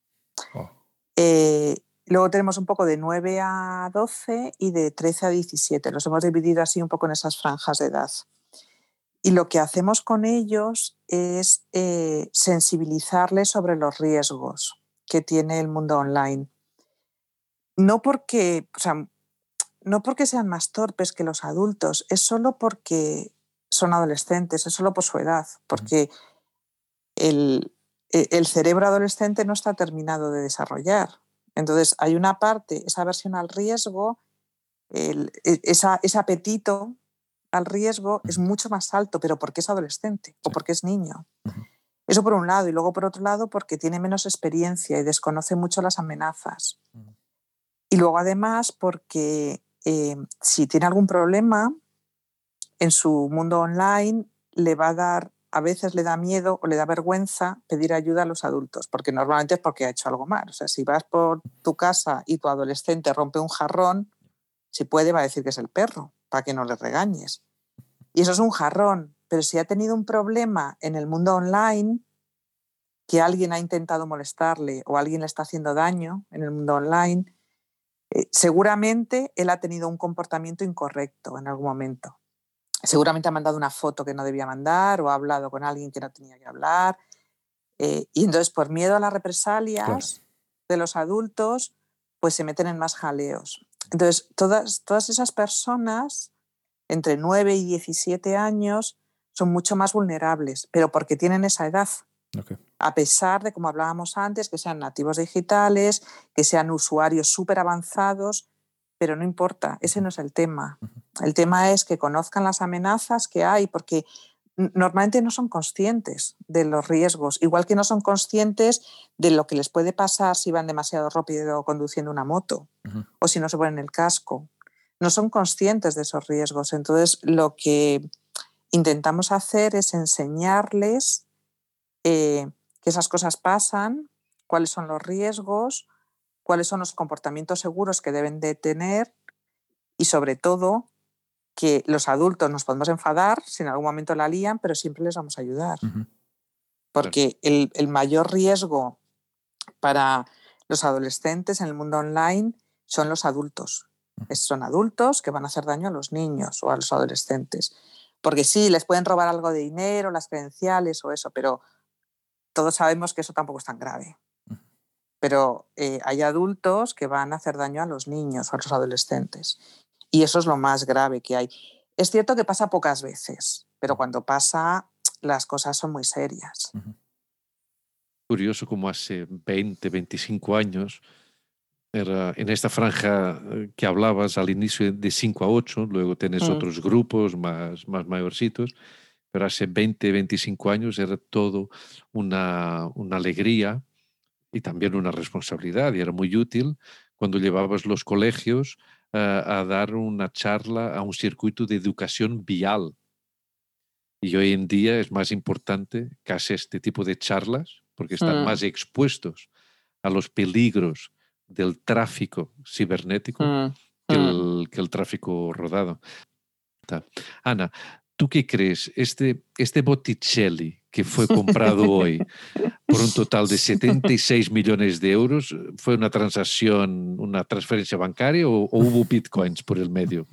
Luego tenemos un poco de 9 a 12 y de 13 a 17. Los hemos dividido así un poco en esas franjas de edad. Y lo que hacemos con ellos es sensibilizarles sobre los riesgos que tiene el mundo online. No porque sean más torpes que los adultos, es solo porque son adolescentes, es solo por su edad, porque el cerebro adolescente no está terminado de desarrollar. Entonces hay una parte, esa aversión al riesgo, ese apetito al riesgo es mucho más alto, pero porque es adolescente o porque es niño. Eso por un lado, y luego por otro lado porque tiene menos experiencia y desconoce mucho las amenazas. Y luego además porque si tiene algún problema en su mundo online a veces le da miedo o le da vergüenza pedir ayuda a los adultos, porque normalmente es porque ha hecho algo mal. O sea, si vas por tu casa y tu adolescente rompe un jarrón, si puede va a decir que es el perro, para que no le regañes. Y eso es un jarrón, pero si ha tenido un problema en el mundo online, que alguien ha intentado molestarle o alguien le está haciendo daño en el mundo online, Seguramente él ha tenido un comportamiento incorrecto en algún momento. Seguramente ha mandado una foto que no debía mandar o ha hablado con alguien que no tenía que hablar. Y entonces, por miedo a las represalias de los adultos, pues se meten en más jaleos. Entonces, todas esas personas entre 9 y 17 años son mucho más vulnerables, pero porque tienen esa edad. Okay. A pesar de, como hablábamos antes, que sean nativos digitales, que sean usuarios súper avanzados, pero no importa, ese no es el tema. El tema es que conozcan las amenazas que hay, porque normalmente no son conscientes de los riesgos, igual que no son conscientes de lo que les puede pasar si van demasiado rápido conduciendo una moto o si no se ponen el casco. No son conscientes de esos riesgos. Entonces, lo que intentamos hacer es enseñarles que esas cosas pasan, cuáles son los riesgos, cuáles son los comportamientos seguros que deben de tener y, sobre todo, que los adultos nos podemos enfadar si en algún momento la lían, pero siempre les vamos a ayudar. Porque el mayor riesgo para los adolescentes en el mundo online son los adultos. Son adultos que van a hacer daño a los niños o a los adolescentes. Porque sí, les pueden robar algo de dinero, las credenciales o eso, pero todos sabemos que eso tampoco es tan grave. Pero hay adultos que van a hacer daño a los niños o a los adolescentes. Y eso es lo más grave que hay. Es cierto que pasa pocas veces, pero cuando pasa, las cosas son muy serias. Curioso como hace 20, 25 años, era en esta franja que hablabas al inicio de 5 a 8, luego tenés otros grupos más mayorcitos, pero hace 20, 25 años era todo una alegría y también una responsabilidad, y era muy útil cuando llevabas los colegios a dar una charla a un circuito de educación vial. Y hoy en día es más importante que hacer este tipo de charlas porque están más expuestos a los peligros del tráfico cibernético que el tráfico rodado. Ana, ¿tú qué crees? Este Botticelli que fue comprado hoy por un total de 76 millones de euros, ¿fue una transacción, una transferencia bancaria o hubo bitcoins por el medio?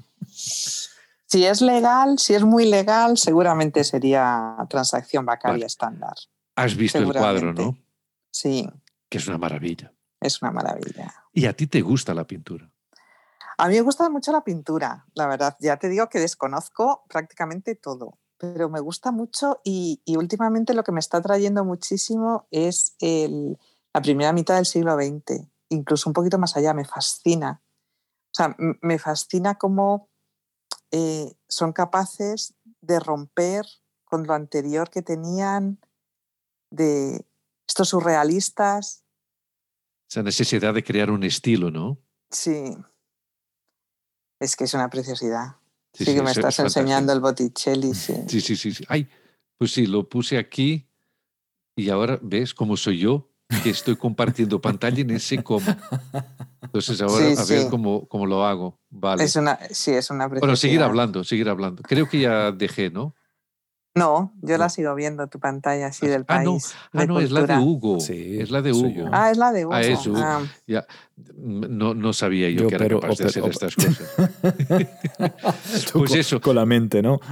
Si es legal, si es muy legal, seguramente sería transacción bancaria estándar. Has visto el cuadro, ¿no? Sí. Que es una maravilla. Es una maravilla. ¿Y a ti te gusta la pintura? A mí me gusta mucho la pintura, la verdad. Ya te digo que desconozco prácticamente todo, pero me gusta mucho y últimamente lo que me está atrayendo muchísimo es la primera mitad del siglo XX, incluso un poquito más allá, me fascina. O sea, me fascina cómo son capaces de romper con lo anterior que tenían, de estos surrealistas. Esa necesidad de crear un estilo, ¿no? Sí. Es que es una preciosidad. Sí, que me estás enseñando el Botticelli, sí. Sí. Ay, pues sí, lo puse aquí y ahora ves cómo soy yo, que estoy compartiendo pantalla y no sé cómo. Entonces ahora a ver cómo lo hago. Vale. Es una preciosidad. Bueno, seguir hablando. Creo que ya dejé, ¿no? No, yo la sigo viendo, tu pantalla así del país. No, es la de Hugo. Sí, es la de Hugo. Es la de Hugo. Es Hugo. Ya, no sabía yo que era capaz de hacer estas cosas. Pues eso. Con la mente, ¿no?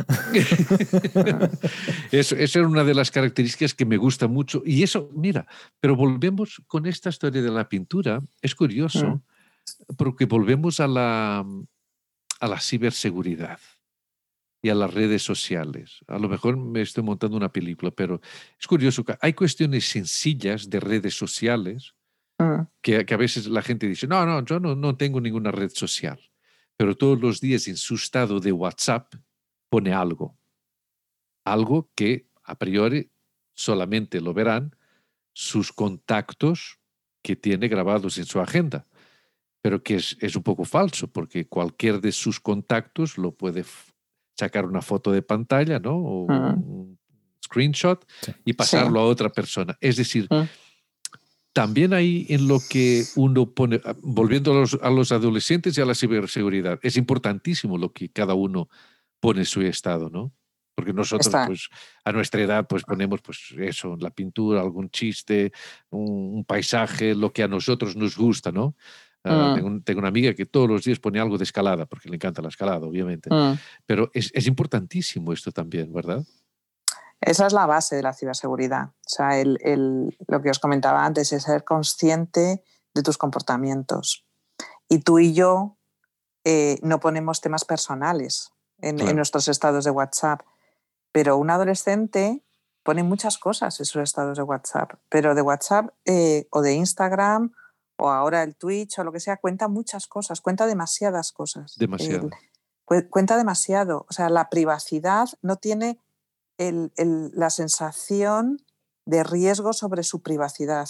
Eso era una de las características que me gusta mucho. Y eso, mira, pero volvemos con esta historia de la pintura. Es curioso, porque volvemos a la ciberseguridad y a las redes sociales. A lo mejor me estoy montando una película, pero es curioso que hay cuestiones sencillas de redes sociales que a veces la gente dice, no, yo no tengo ninguna red social, pero todos los días en su estado de WhatsApp pone algo que a priori solamente lo verán sus contactos que tiene grabados en su agenda, pero que es un poco falso, porque cualquier de sus contactos lo puede sacar una foto de pantalla, ¿no? O un screenshot y pasarlo a otra persona. Es decir, también ahí en lo que uno pone, volviendo a los adolescentes y a la ciberseguridad, es importantísimo lo que cada uno pone en su estado, ¿no? Porque nosotros, pues, a nuestra edad, pues ponemos, pues, eso, la pintura, algún chiste, un paisaje, lo que a nosotros nos gusta, ¿no? Tengo una amiga que todos los días pone algo de escalada, porque le encanta la escalada, obviamente. Pero es importantísimo esto también, ¿verdad? Esa es la base de la ciberseguridad. O sea, lo que os comentaba antes es ser consciente de tus comportamientos. Y tú y yo no ponemos temas personales en nuestros estados de WhatsApp, pero un adolescente pone muchas cosas en sus estados de WhatsApp, pero de WhatsApp o de Instagram o ahora el Twitch o lo que sea, cuenta muchas cosas, cuenta demasiadas cosas. Demasiado. Cuenta demasiado. O sea, la privacidad no tiene la sensación de riesgo sobre su privacidad.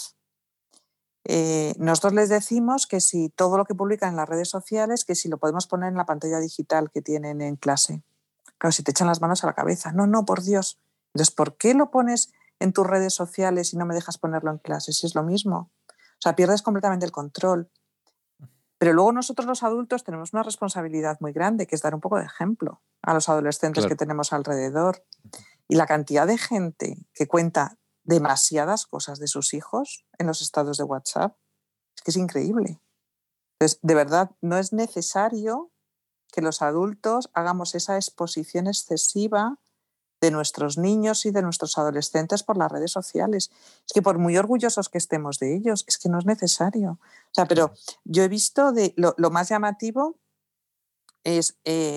Nosotros les decimos que si todo lo que publican en las redes sociales, que si lo podemos poner en la pantalla digital que tienen en clase. Claro, si te echan las manos a la cabeza. No, por Dios. Entonces, ¿por qué lo pones en tus redes sociales y no me dejas ponerlo en clase? Si es lo mismo. O sea, pierdes completamente el control. Pero luego nosotros los adultos tenemos una responsabilidad muy grande, que es dar un poco de ejemplo a los adolescentes que tenemos alrededor. Y la cantidad de gente que cuenta demasiadas cosas de sus hijos en los estados de WhatsApp es que es increíble. Entonces, de verdad, no es necesario que los adultos hagamos esa exposición excesiva de nuestros niños y de nuestros adolescentes por las redes sociales. Es que por muy orgullosos que estemos de ellos, es que no es necesario. O sea, pero yo he visto lo más llamativo es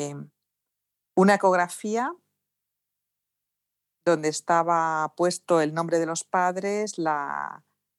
una ecografía donde estaba puesto el nombre de los padres, la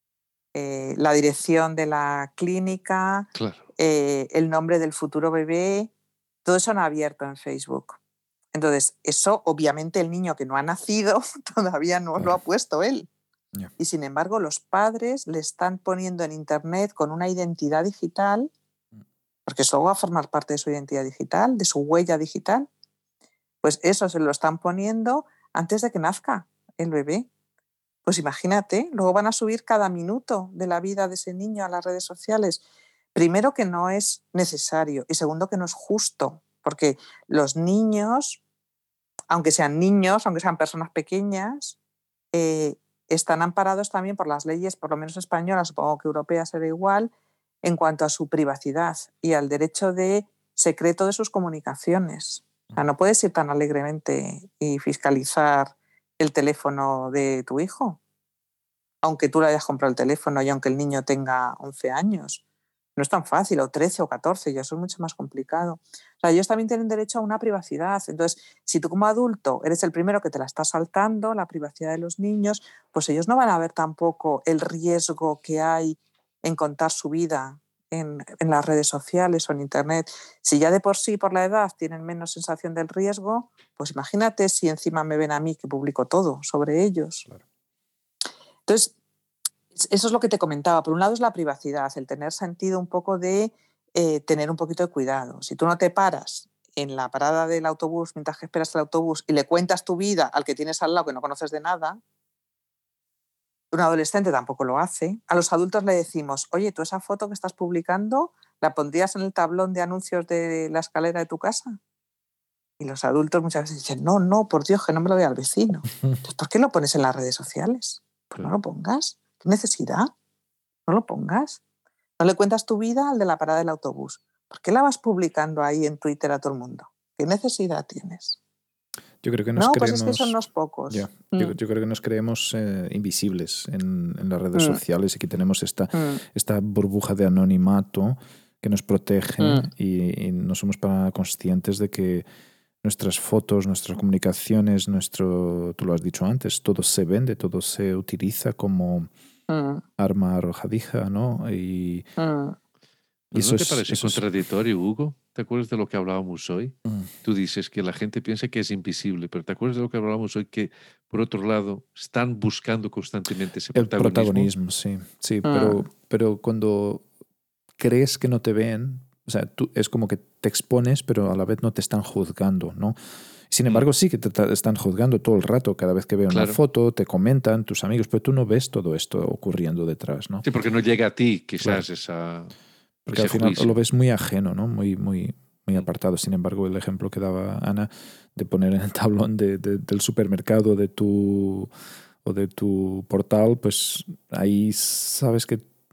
dirección de la clínica, el nombre del futuro bebé, todo eso en abierto en Facebook. Entonces, eso obviamente el niño que no ha nacido todavía no lo ha puesto él. Y sin embargo, los padres le están poniendo en Internet con una identidad digital, porque eso va a formar parte de su identidad digital, de su huella digital. Pues eso se lo están poniendo antes de que nazca el bebé. Pues imagínate, luego van a subir cada minuto de la vida de ese niño a las redes sociales. Primero, que no es necesario, y segundo, que no es justo, porque los niños, aunque sean personas pequeñas, están amparados también por las leyes, por lo menos españolas, supongo que europeas será igual, en cuanto a su privacidad y al derecho de secreto de sus comunicaciones. O sea, no puedes ir tan alegremente y fiscalizar el teléfono de tu hijo, aunque tú le hayas comprado el teléfono y aunque el niño tenga 11 años. No es tan fácil, o 13 o 14, ya eso es mucho más complicado. O sea, ellos también tienen derecho a una privacidad. Entonces, si tú como adulto eres el primero que te la está saltando, la privacidad de los niños, pues ellos no van a ver tampoco el riesgo que hay en contar su vida en las redes sociales o en Internet. Si ya de por sí, por la edad, tienen menos sensación del riesgo, pues imagínate si encima me ven a mí que publico todo sobre ellos. Claro. Entonces, eso es lo que te comentaba. Por un lado es la privacidad, el tener sentido un poco de tener un poquito de cuidado. Si tú no te paras en la parada del autobús mientras que esperas el autobús y le cuentas tu vida al que tienes al lado que no conoces de nada, un adolescente tampoco lo hace. A los adultos le decimos, oye, ¿tú esa foto que estás publicando la pondrías en el tablón de anuncios de la escalera de tu casa? Y los adultos muchas veces dicen, no, por Dios, que no me lo vea al vecino. Entonces, ¿por qué lo pones en las redes sociales? Pues no lo pongas. ¿Qué necesidad? No lo pongas. No le cuentas tu vida al de la parada del autobús. ¿Por qué la vas publicando ahí en Twitter a todo el mundo? ¿Qué necesidad tienes? Yo creo que nos creemos, pues es que son unos pocos. Yo creo que nos creemos invisibles en las redes sociales y que tenemos esta burbuja de anonimato que nos protege y no somos para conscientes de que nuestras fotos, nuestras comunicaciones, tú lo has dicho antes, todo se vende, todo se utiliza como arma arrojadiza, ¿no? Y ¿No te parece contradictorio, Hugo? ¿Te acuerdas de lo que hablábamos hoy? Tú dices que la gente piensa que es invisible, pero ¿te acuerdas de lo que hablábamos hoy? Que, por otro lado, están buscando constantemente ese protagonismo. El protagonismo, sí. Pero cuando crees que no te ven, o sea, tú es como que te expones, pero a la vez no te están juzgando, ¿no? Sin embargo, sí que te están juzgando todo el rato. Cada vez que veo una foto, te comentan tus amigos, pero tú no ves todo esto ocurriendo detrás, ¿no? Sí, porque no llega a ti, quizás, esa... Porque al final lo ves muy ajeno, ¿no? Muy apartado. Sin embargo, el ejemplo que daba Ana de poner en el tablón del supermercado de tu portal, pues ahí sabes que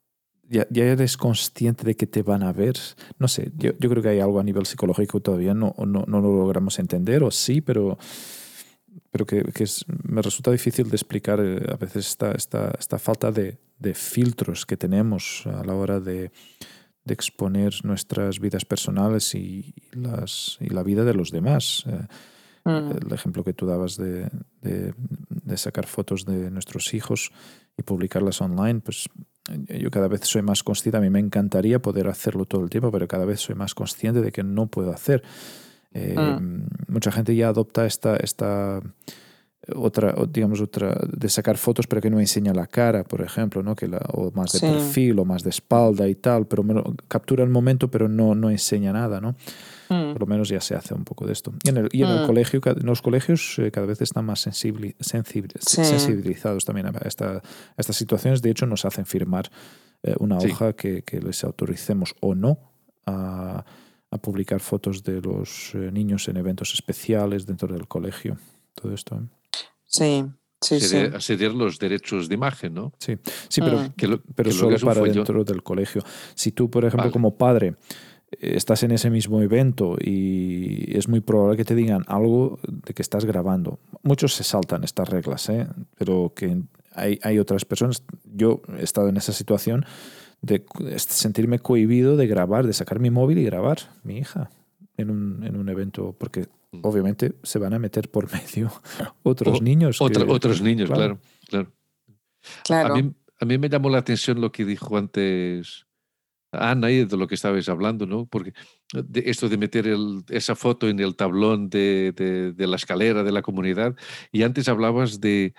ya eres consciente de que te van a ver. No sé, yo creo que hay algo a nivel psicológico que todavía no lo logramos entender, o sí, pero que me resulta difícil de explicar a veces esta falta de filtros que tenemos a la hora de exponer nuestras vidas personales y la vida de los demás. El ejemplo que tú dabas de sacar fotos de nuestros hijos y publicarlas online, pues yo cada vez soy más consciente. A mí me encantaría poder hacerlo todo el tiempo, pero cada vez soy más consciente de que no puedo hacer. Mucha gente ya adopta esta otra de sacar fotos pero que no enseña la cara, por ejemplo, ¿no? O más de perfil o más de espalda y tal, pero captura el momento pero no enseña nada, ¿no? Por lo menos ya se hace un poco de esto. Y en el colegio, en los colegios cada vez están más sensibilizados también a estas situaciones. De hecho, nos hacen firmar una hoja que les autoricemos o no a publicar fotos de los niños en eventos especiales dentro del colegio. Todo esto. Sí. Ceder los derechos de imagen, ¿no? Sí, pero solo para dentro del colegio. Si tú, por ejemplo, como padre, estás en ese mismo evento y es muy probable que te digan algo de que estás grabando. Muchos se saltan estas reglas, pero que hay otras personas. Yo he estado en esa situación de sentirme cohibido de grabar, de sacar mi móvil y grabar mi hija en un evento, porque obviamente se van a meter por medio otros niños. Otros niños, claro. Claro. A mí me llamó la atención lo que dijo antes Ana y de lo que estabais hablando, ¿no? Porque esto de meter esa foto en el tablón de la escalera de la comunidad, y antes hablabas del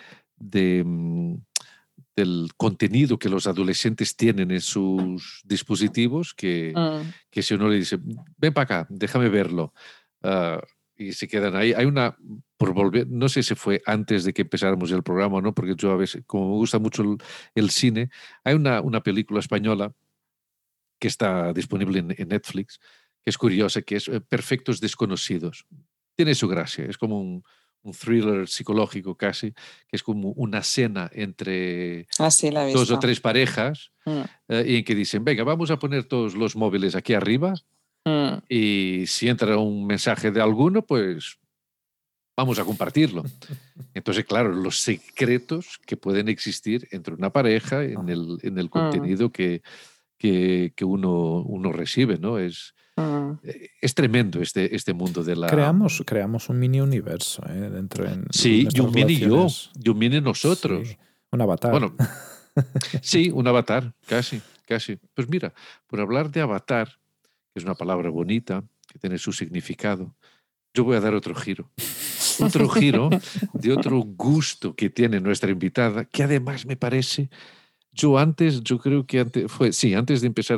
contenido que los adolescentes tienen en sus dispositivos, que si uno le dice, ven para acá, déjame verlo, y se quedan ahí. Hay una, por volver, no sé si fue antes de que empezáramos el programa o no, porque yo a veces, como me gusta mucho el cine, hay una película española que está disponible en Netflix, que es curiosa, que es Perfectos Desconocidos. Tiene su gracia, es como un thriller psicológico casi, que es como una cena entre dos o tres parejas y en que dicen, venga, vamos a poner todos los móviles aquí arriba y si entra un mensaje de alguno, pues vamos a compartirlo. Entonces, claro, los secretos que pueden existir entre una pareja en el contenido que uno recibe, ¿no? Es tremendo este mundo de la... Creamos un mini universo dentro de sí, y un mini yo, y un mini nosotros. Sí, un avatar. Bueno, sí, un avatar, casi. Pues mira, por hablar de avatar, que es una palabra bonita, que tiene su significado, yo voy a dar otro giro. Otro giro de otro gusto que tiene nuestra invitada, que además me parece... Yo creo que antes de empezar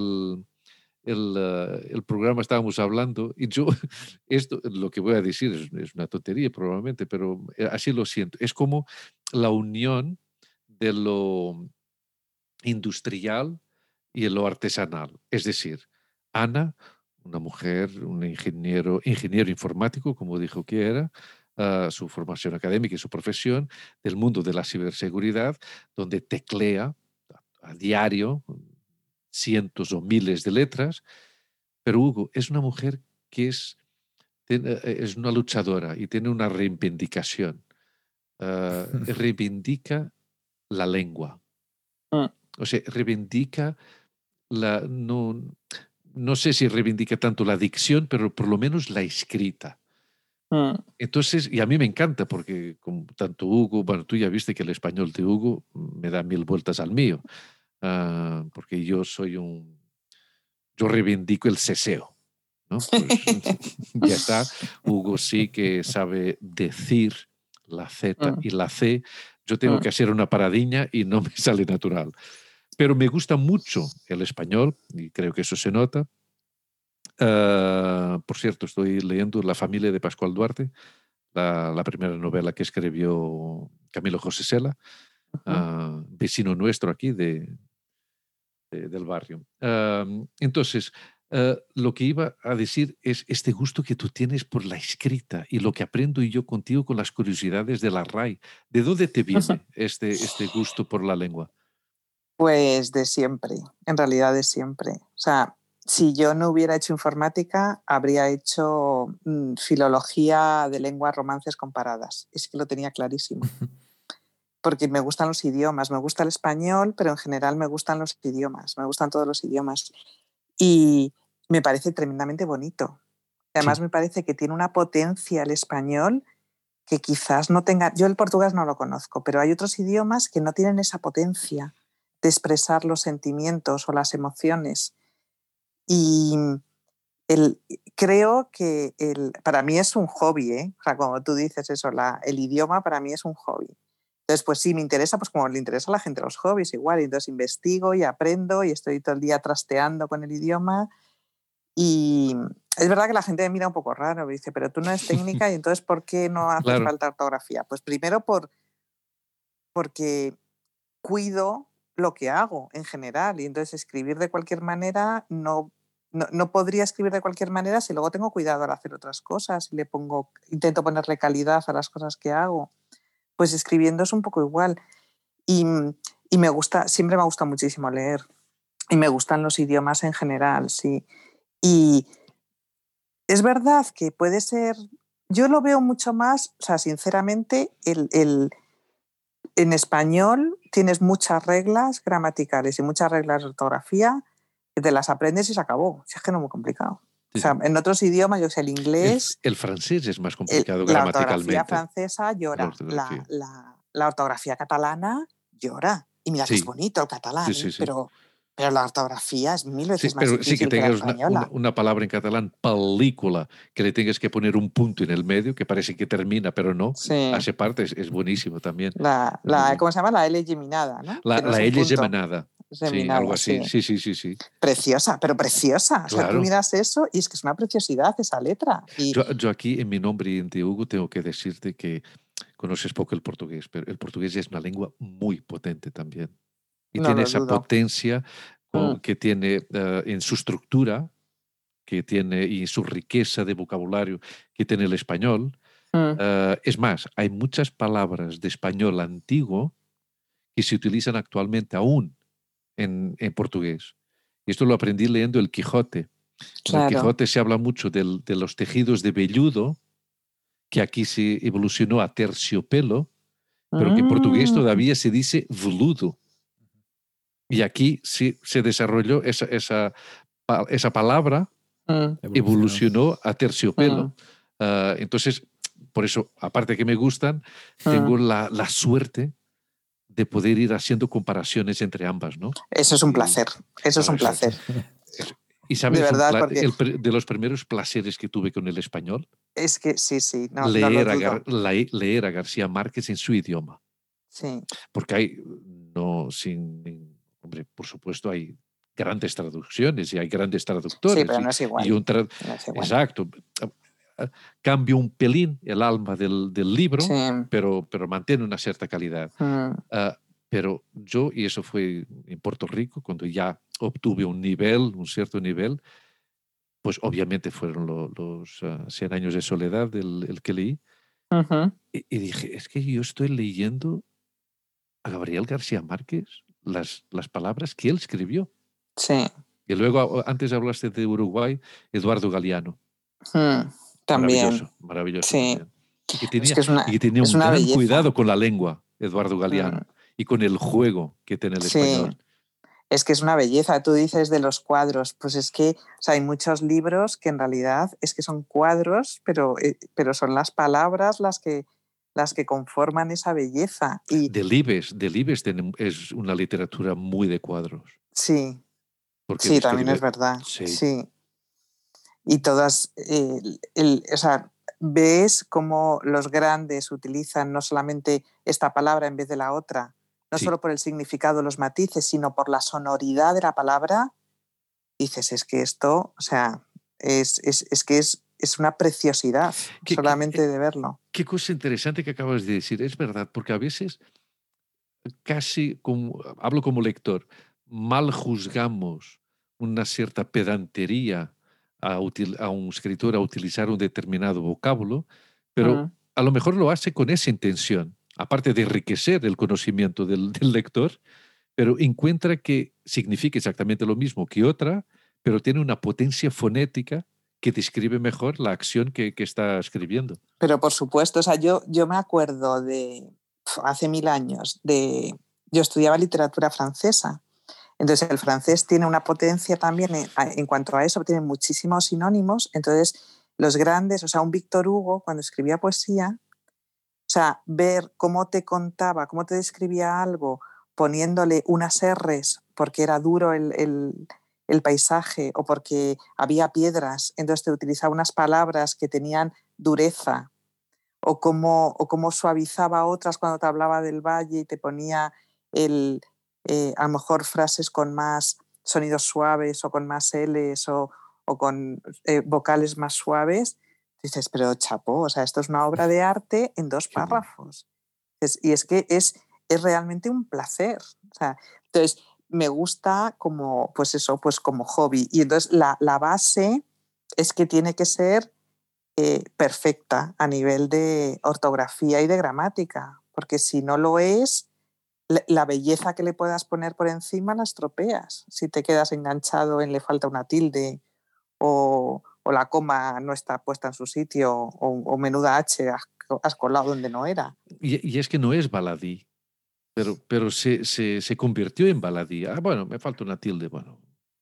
el programa estábamos hablando y esto, lo que voy a decir es una tontería probablemente, pero así lo siento. Es como la unión de lo industrial y lo artesanal. Es decir, Ana, una mujer, un ingeniero informático, como dijo que era, su formación académica y su profesión, del mundo de la ciberseguridad, donde teclea a diario cientos o miles de letras, pero Hugo es una mujer que es una luchadora y tiene una reivindicación. Reivindica la lengua. O sea, reivindica no sé si reivindica tanto la dicción, pero por lo menos la escrita. Entonces, y a mí me encanta porque tanto Hugo, bueno, tú ya viste que el español de Hugo me da 1000 vueltas al mío, porque yo reivindico el seseo, ¿no? Pues ya está. Hugo sí que sabe decir la Z y la C. Yo tengo que hacer una paradiña y no me sale natural. Pero me gusta mucho el español y creo que eso se nota. Por cierto, estoy leyendo La familia de Pascual Duarte, la primera novela que escribió Camilo José Cela, vecino nuestro aquí del barrio. Entonces, lo que iba a decir es este gusto que tú tienes por la escrita y lo que aprendo yo contigo con las curiosidades de la RAI. ¿De dónde te viene este gusto por la lengua? Pues de siempre, en realidad de siempre. O sea, si yo no hubiera hecho informática, habría hecho filología de lenguas romances comparadas. Es que lo tenía clarísimo. Porque me gustan los idiomas, me gusta el español, pero en general me gustan los idiomas, me gustan todos los idiomas. Y me parece tremendamente bonito. Además, Sí. me parece que tiene una potencia el español que quizás no tenga. Yo el portugués no lo conozco, pero hay otros idiomas que no tienen esa potencia de expresar los sentimientos o las emociones. Y creo que para mí es un hobby, ¿eh? O sea, como tú dices eso, el idioma para mí es un hobby. Entonces, pues sí, me interesa, pues como le interesa a la gente los hobbies igual. Y entonces investigo y aprendo y estoy todo el día trasteando con el idioma. Y es verdad que la gente me mira un poco raro, me dice, pero tú no eres técnica y entonces ¿por qué no haces Claro. falta ortografía? Pues primero porque cuido lo que hago en general y entonces escribir de cualquier manera no podría escribir de cualquier manera si luego tengo cuidado al hacer otras cosas y intento ponerle calidad a las cosas que hago. Pues escribiendo es un poco igual. Y me gusta, siempre me gusta muchísimo leer y me gustan los idiomas en general, sí. Y es verdad que puede ser, yo lo veo mucho más, o sea, sinceramente, en español tienes muchas reglas gramaticales y muchas reglas de ortografía, que te las aprendes y se acabó. Si es que no es muy complicado. Sí, o sea, en otros idiomas, yo sé, el inglés, el francés es más complicado la ortografía gramaticalmente. francesa llora, ortografía. la ortografía catalana llora. Y mira que es Sí, bonito el catalán, sí. pero la ortografía es 1000 Sí, veces más pero sí que difícil que la tengas española. una palabra en catalán, película, que le tengas que poner un punto en el medio, que parece que termina, pero no. Sí. Hace parte, es buenísimo también. ¿Cómo se llama? La L geminada, ¿no? La Que no es un L punto. geminada. Sí, Geminada, algo así. sí. Sí. Preciosa, pero preciosa. O sea, tú Claro. miras eso y es que es una preciosidad esa letra. Y Yo aquí en mi nombre y en de Hugo tengo que decirte que conoces poco el portugués, pero el portugués es una lengua muy potente también. Y no tiene lo esa dudo. potencia que tiene en su estructura, que tiene y su riqueza de vocabulario que tiene el español. Es más, hay muchas palabras de español antiguo que se utilizan actualmente aún en portugués. Y esto lo aprendí leyendo El Quijote. En El Claro. Quijote se habla mucho de los tejidos de velludo, que aquí se evolucionó a terciopelo, pero que en portugués todavía se dice veludo. Y aquí sí se desarrolló esa palabra, evolucionó a terciopelo. Entonces, por eso, aparte que me gustan, tengo la suerte de poder ir haciendo comparaciones entre ambas, ¿no? Eso es un placer. Eso es un placer. Y sabes, De verdad, porque de los primeros placeres que tuve con el español, es que sí, no lo leer, dudo. leer a García Márquez en su idioma. Sí. Porque hay, hombre, por supuesto hay grandes traducciones y hay grandes traductores. Sí, pero no es igual. No es igual. Exacto. Cambia un pelín el alma del libro, sí. pero mantiene una cierta calidad. Pero yo, y eso fue en Puerto Rico, cuando ya obtuve un cierto nivel, pues obviamente fueron los 100 años de soledad el que leí. Y dije, es que yo estoy leyendo a Gabriel García Márquez las palabras que él escribió. Sí. Y luego, antes hablaste de Uruguay, Eduardo Galeano. También. Maravilloso Sí. también. Y que tenía un gran belleza. cuidado con la lengua, Eduardo Galeano, y con el juego que tiene el español. Es que es una belleza. Tú dices de los cuadros, pues es que hay muchos libros que en realidad es que son cuadros, pero son las palabras las que conforman esa belleza. Y Delibes es una literatura muy de cuadros. Sí, Porque sí, también es verdad. Sí. Y todas, o sea, ves cómo los grandes utilizan no solamente esta palabra en vez de la otra, no solo por el significado, los matices, sino por la sonoridad de la palabra. Dices, es que esto, o sea, es que es una preciosidad solamente de verlo. Qué cosa interesante que acabas de decir, es verdad, porque a veces casi, hablo como lector, mal juzgamos una cierta pedantería a un escritor a utilizar un determinado vocábulo, pero a lo mejor lo hace con esa intención, aparte de enriquecer el conocimiento del lector, pero encuentra que significa exactamente lo mismo que otra, pero tiene una potencia fonética que describe mejor la acción que está escribiendo. Pero por supuesto, o sea, yo me acuerdo de hace 1000 años, yo estudiaba literatura francesa. Entonces el francés tiene una potencia también en cuanto a eso, tiene muchísimos sinónimos. Entonces los grandes, o sea, un Víctor Hugo cuando escribía poesía, o sea, ver cómo te contaba, cómo te describía algo poniéndole unas R's porque era duro el paisaje o porque había piedras, entonces te utilizaba unas palabras que tenían dureza, o cómo suavizaba otras cuando te hablaba del valle y te ponía a lo mejor frases con más sonidos suaves o con más L's o con vocales más suaves. Dices, pero chapó, o sea, esto es una obra de arte en 2 párrafos. Y es que es realmente un placer. O sea, entonces, me gusta como, pues eso, pues como hobby. Y entonces la base es que tiene que ser perfecta a nivel de ortografía y de gramática, porque si no lo es, la belleza que le puedas poner por encima la estropeas. Si te quedas enganchado en le falta una tilde o la coma no está puesta en su sitio o menuda H has colado donde no era. Y es que no es baladí, pero se convirtió en baladí. Ah, bueno, me falta una tilde, bueno.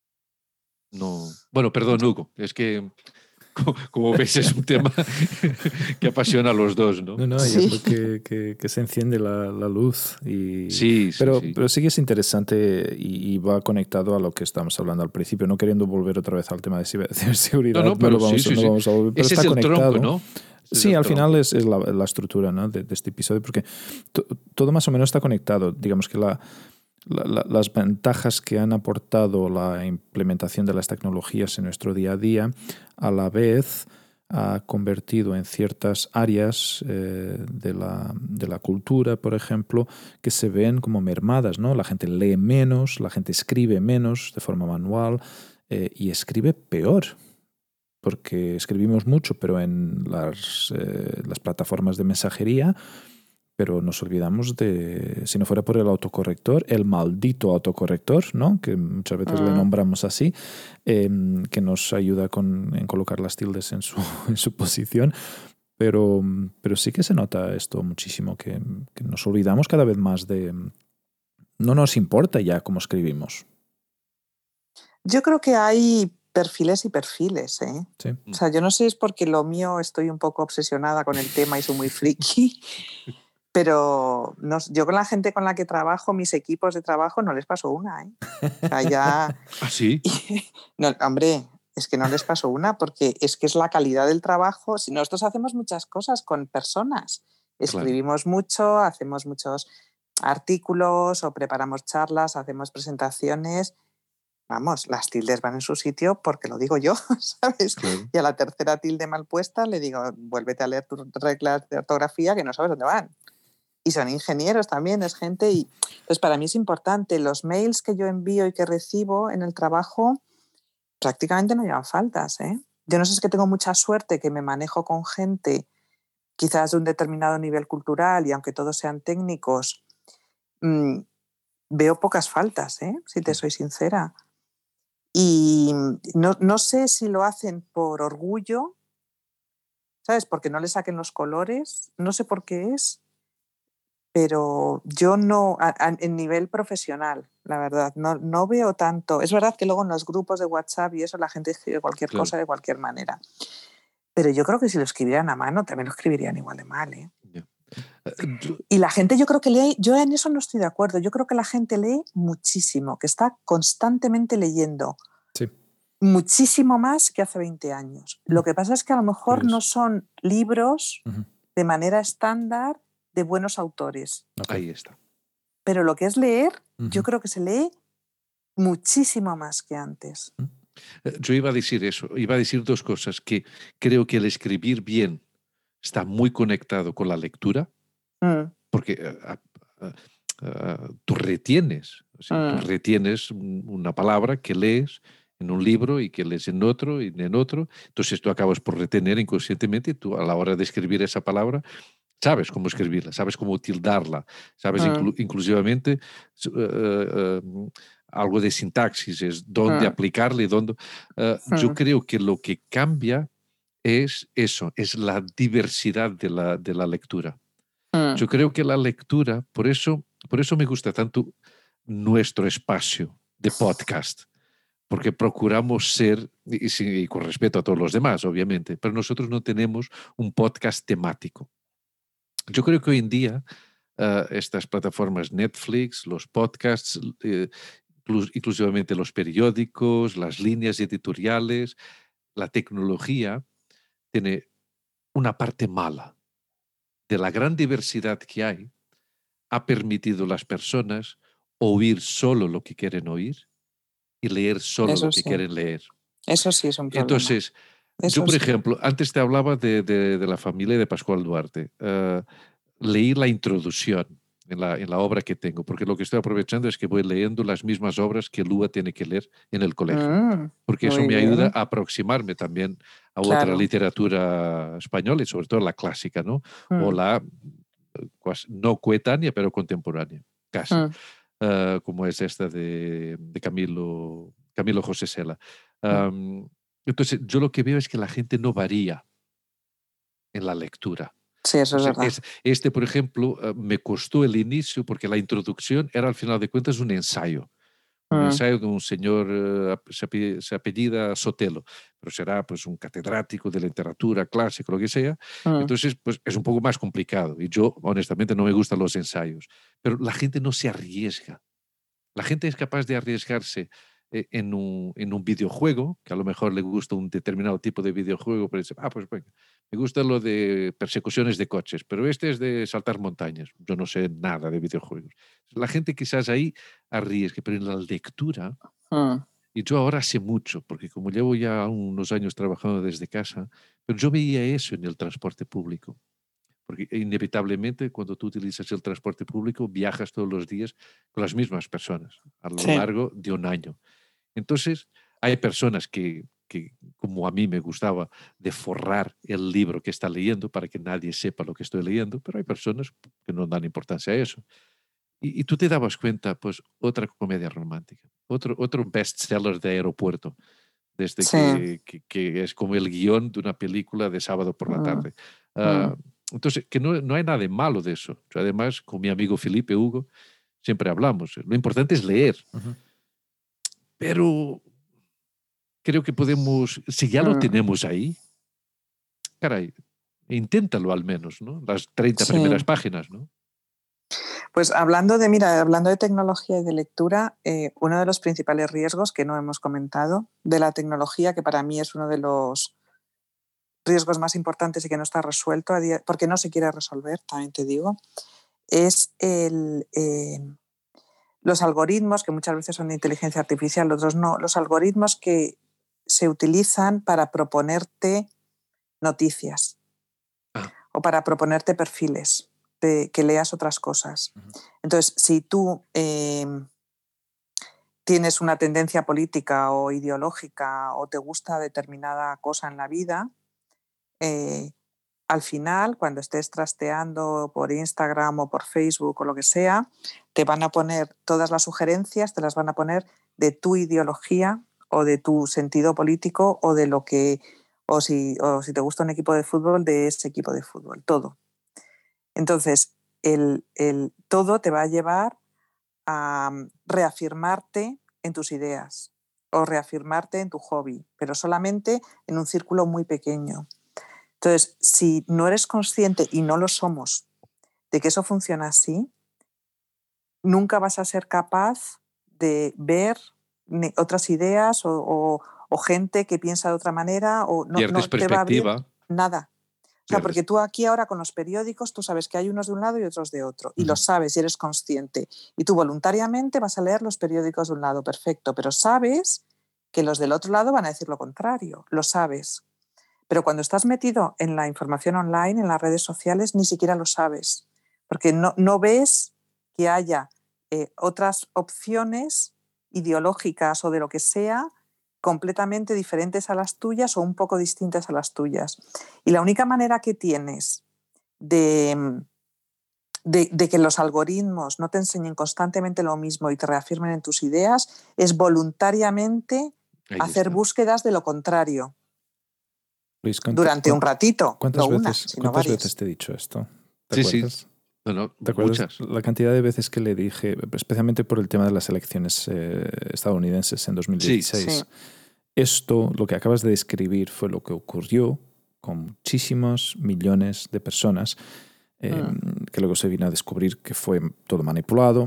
No. Bueno, perdón, Hugo, es que como ves es un tema que apasiona a los dos, ¿no? No, Sí. yo creo que se enciende la luz. Sí. Pero sí que es interesante y va conectado a lo que estábamos hablando al principio, no queriendo volver otra vez al tema de ciberseguridad. No, pero lo vamos a volver, pero ese está es el conectado. tronco, ¿no? Sí, al final es la estructura, ¿no? de este episodio, porque todo más o menos está conectado. Digamos que las ventajas que han aportado la implementación de las tecnologías en nuestro día a día, a la vez ha convertido en ciertas áreas de la cultura, por ejemplo, que se ven como mermadas, ¿no? La gente lee menos, la gente escribe menos de forma manual y escribe peor, porque escribimos mucho, pero en las plataformas de mensajería, pero nos olvidamos de, si no fuera por el autocorrector, el maldito autocorrector, ¿no? Que muchas veces le nombramos así, que nos ayuda en colocar las tildes en su posición. Pero sí que se nota esto muchísimo, que nos olvidamos cada vez más de... No nos importa ya cómo escribimos. Yo creo que hay perfiles y perfiles, ¿eh? Sí. O sea, yo no sé si es porque lo mío estoy un poco obsesionada con el tema y soy muy friki, pero no, yo con la gente con la que trabajo, mis equipos de trabajo, no les paso una, ¿eh? O sea, ya... ¿Ah, sí? No, hombre, es que no les paso una porque es que es la calidad del trabajo. Si nosotros hacemos muchas cosas con personas, escribimos mucho, hacemos muchos artículos o preparamos charlas, hacemos presentaciones. Vamos, las tildes van en su sitio porque lo digo yo, ¿sabes? Claro. Y a la tercera tilde mal puesta le digo, vuélvete a leer tus reglas de ortografía que no sabes dónde van. Y son ingenieros también, es gente. Y pues para mí es importante. Los mails que yo envío y que recibo en el trabajo prácticamente no llevan faltas, ¿eh? Yo no sé, es que tengo mucha suerte que me manejo con gente quizás de un determinado nivel cultural y aunque todos sean técnicos, veo pocas faltas, ¿eh? Si te soy sincera. Y no sé si lo hacen por orgullo, ¿sabes? Porque no le saquen los colores, no sé por qué es, pero yo no, en nivel profesional, la verdad, no veo tanto. Es verdad que luego en los grupos de WhatsApp y eso la gente escribe cualquier cosa de cualquier manera, pero yo creo que si lo escribieran a mano también lo escribirían igual de mal, ¿eh? Y la gente, yo creo que lee, yo en eso no estoy de acuerdo, yo creo que la gente lee muchísimo, que está constantemente leyendo. Sí. Muchísimo más que hace 20 años. Lo que pasa es que a lo mejor no son libros de manera estándar de buenos autores. Ahí está. Pero lo que es leer, yo creo que se lee muchísimo más que antes. Yo iba a decir eso, iba a decir dos cosas, que creo que el escribir bien está muy conectado con la lectura, porque tú retienes, o sea, tú retienes una palabra que lees en un libro y que lees en otro y en otro, entonces tú acabas por retener inconscientemente, tú a la hora de escribir esa palabra sabes cómo escribirla, sabes cómo tildarla, sabes inclusivamente algo de sintaxis, es dónde aplicarla y dónde... yo creo que lo que cambia es eso, es la diversidad de la lectura. Yo creo que la lectura, por eso me gusta tanto nuestro espacio de podcast, porque procuramos ser, y con respeto a todos los demás, obviamente, pero nosotros no tenemos un podcast temático. Yo creo que hoy en día estas plataformas Netflix, los podcasts, inclusivamente los periódicos, las líneas editoriales, la tecnología, tiene una parte mala. De la gran diversidad que hay, ha permitido a las personas oír solo lo que quieren oír y leer solo Eso lo que sí. quieren leer. Eso sí es un problema. Entonces, yo, por ejemplo, antes te hablaba de la familia de Pascual Duarte. Leí la introducción en la obra que tengo, porque lo que estoy aprovechando es que voy leyendo las mismas obras que Lua tiene que leer en el colegio, porque eso me ayuda a aproximarme también a otra literatura española y sobre todo la clásica, ¿no? O la no coetánea, pero contemporánea, casi, como es esta de Camilo José Cela. Entonces, yo lo que veo es que la gente no varía en la lectura. Sí, eso es verdad. Por ejemplo, me costó el inicio porque la introducción era al final de cuentas un ensayo. Un ensayo de un señor, se apellida Sotelo, pero será pues un catedrático de literatura clásica, lo que sea. Entonces, pues es un poco más complicado. Y yo, honestamente, no me gustan los ensayos. Pero la gente no se arriesga. La gente es capaz de arriesgarse en un videojuego, que a lo mejor le gusta un determinado tipo de videojuego, pero dice, pues venga, me gusta lo de persecuciones de coches, pero este es de saltar montañas. Yo no sé nada de videojuegos. La gente quizás ahí arriesgue, pero en la lectura, y yo ahora sé mucho, porque como llevo ya unos años trabajando desde casa, pero yo veía eso en el transporte público. Porque inevitablemente cuando tú utilizas el transporte público viajas todos los días con las mismas personas a lo largo de un año. Entonces hay personas que, como a mí me gustaba, de forrar el libro que está leyendo para que nadie sepa lo que estoy leyendo, pero hay personas que no dan importancia a eso. Y tú te dabas cuenta, pues otra comedia romántica, otro bestseller de aeropuerto, desde que es como el guión de una película de sábado por la tarde. Entonces, que no hay nada de malo de eso. Yo, además, con mi amigo Felipe Hugo, siempre hablamos. Lo importante es leer. Pero creo que podemos, si ya lo tenemos ahí, caray, inténtalo al menos, ¿no? Las 30 primeras páginas, ¿no? Pues hablando de tecnología y de lectura, uno de los principales riesgos que no hemos comentado de la tecnología, que para mí es uno de los riesgos más importantes y que no está resuelto, porque no se quiere resolver, también te digo, es los algoritmos, que muchas veces son de inteligencia artificial, otros no, los algoritmos que se utilizan para proponerte noticias o para proponerte perfiles, que leas otras cosas. Entonces, si tú tienes una tendencia política o ideológica o te gusta determinada cosa en la vida, al final, cuando estés trasteando por Instagram o por Facebook o lo que sea, te van a poner todas las sugerencias, te las van a poner de tu ideología o de tu sentido político o de lo que, o si te gusta un equipo de fútbol, de ese equipo de fútbol, todo. Entonces, todo te va a llevar a reafirmarte en tus ideas o reafirmarte en tu hobby, pero solamente en un círculo muy pequeño. Entonces, si no eres consciente, y no lo somos, de que eso funciona así, nunca vas a ser capaz de ver otras ideas o gente que piensa de otra manera, o no te va a abrir nada. O sea, porque tú aquí ahora con los periódicos, tú sabes que hay unos de un lado y otros de otro, y lo sabes y eres consciente. Y tú voluntariamente vas a leer los periódicos de un lado, perfecto, pero sabes que los del otro lado van a decir lo contrario, lo sabes. Pero cuando estás metido en la información online, en las redes sociales, ni siquiera lo sabes, porque no ves que haya otras opciones ideológicas o de lo que sea completamente diferentes a las tuyas o un poco distintas a las tuyas. Y la única manera que tienes de que los algoritmos no te enseñen constantemente lo mismo y te reafirmen en tus ideas, es voluntariamente hacer búsquedas de lo contrario. Luis, durante un ratito, ¿cuántas no veces, una, sino ¿cuántas varias. veces te he dicho esto? ¿Te acuerdas? Sí. Bueno, ¿Te acuerdas muchas. la cantidad de veces que le dije, especialmente por el tema de las elecciones estadounidenses en 2016? Sí. Esto, lo que acabas de describir, fue lo que ocurrió con muchísimos millones de personas que luego se vino a descubrir que fue todo manipulado.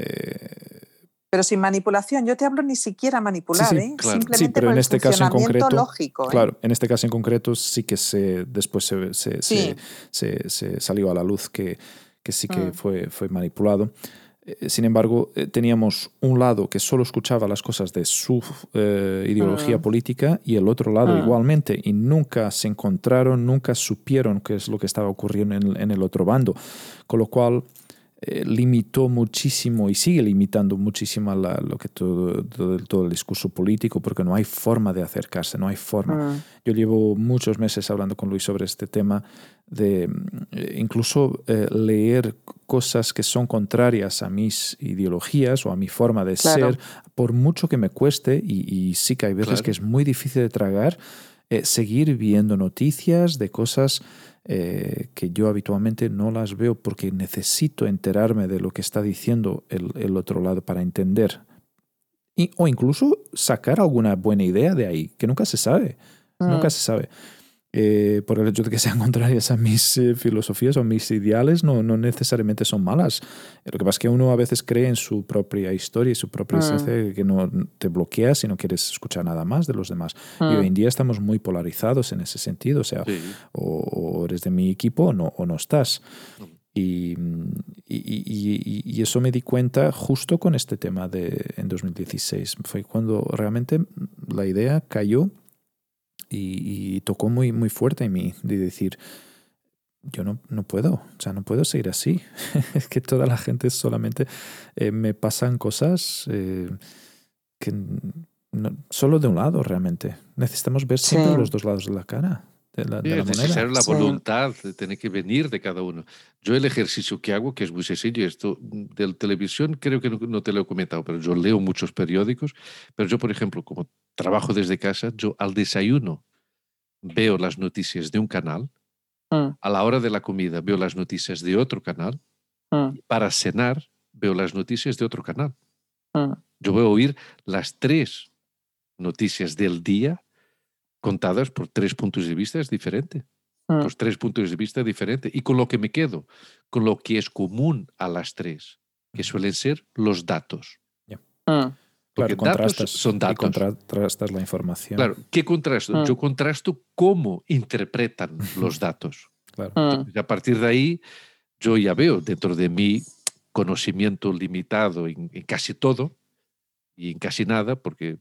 Pero sin manipulación, yo te hablo ni siquiera manipular, claro. simplemente Sí, pero por en el este caso en funcionamiento concreto, lógico. Claro, en este caso en concreto sí que después se salió a la luz que sí que fue manipulado. Sin embargo, teníamos un lado que solo escuchaba las cosas de su ideología política y el otro lado igualmente, y nunca se encontraron, nunca supieron qué es lo que estaba ocurriendo en el otro bando, con lo cual limitó muchísimo y sigue limitando muchísimo lo que todo el discurso político, porque no hay forma de acercarse, no hay forma. Yo llevo muchos meses hablando con Luis sobre este tema de incluso leer cosas que son contrarias a mis ideologías o a mi forma de ser, por mucho que me cueste, y sí que hay veces que es muy difícil de tragar, seguir viendo noticias de cosas que yo habitualmente no las veo porque necesito enterarme de lo que está diciendo el otro lado para entender. O incluso sacar alguna buena idea de ahí, que nunca se sabe. Nunca se sabe. Por el hecho de que sean contrarias a mis filosofías o mis ideales, no necesariamente son malas. Lo que pasa es que uno a veces cree en su propia historia y su propia esencia, que no te bloqueas y no quieres escuchar nada más de los demás. Y hoy en día estamos muy polarizados en ese sentido. O sea, o eres de mi equipo o no estás. Y eso me di cuenta justo con este tema en 2016. Fue cuando realmente la idea cayó y tocó muy, muy fuerte en mí, de decir, yo no puedo, o sea, no puedo seguir así. Es que toda la gente solamente me pasan cosas que solo de un lado realmente. Necesitamos ver siempre los dos lados de la cara. De la es moneda. necesario la voluntad, tiene que venir de cada uno. Yo el ejercicio que hago, que es muy sencillo, esto de televisión creo que no te lo he comentado, pero yo leo muchos periódicos, pero yo, por ejemplo, como trabajo desde casa, yo al desayuno veo las noticias de un canal, a la hora de la comida veo las noticias de otro canal, y para cenar veo las noticias de otro canal. Yo voy a oír las 3 noticias del día contadas por 3 puntos de vista diferentes. Pues 3 puntos de vista diferentes. Y con lo que me quedo, con lo que es común a las 3, que suelen ser los datos. Porque claro, datos son datos. Y contrastas la información. Claro, ¿qué contrasto? Yo contrasto cómo interpretan los datos. Claro. Entonces, a partir de ahí, yo ya veo dentro de mi conocimiento limitado en casi todo y en casi nada, porque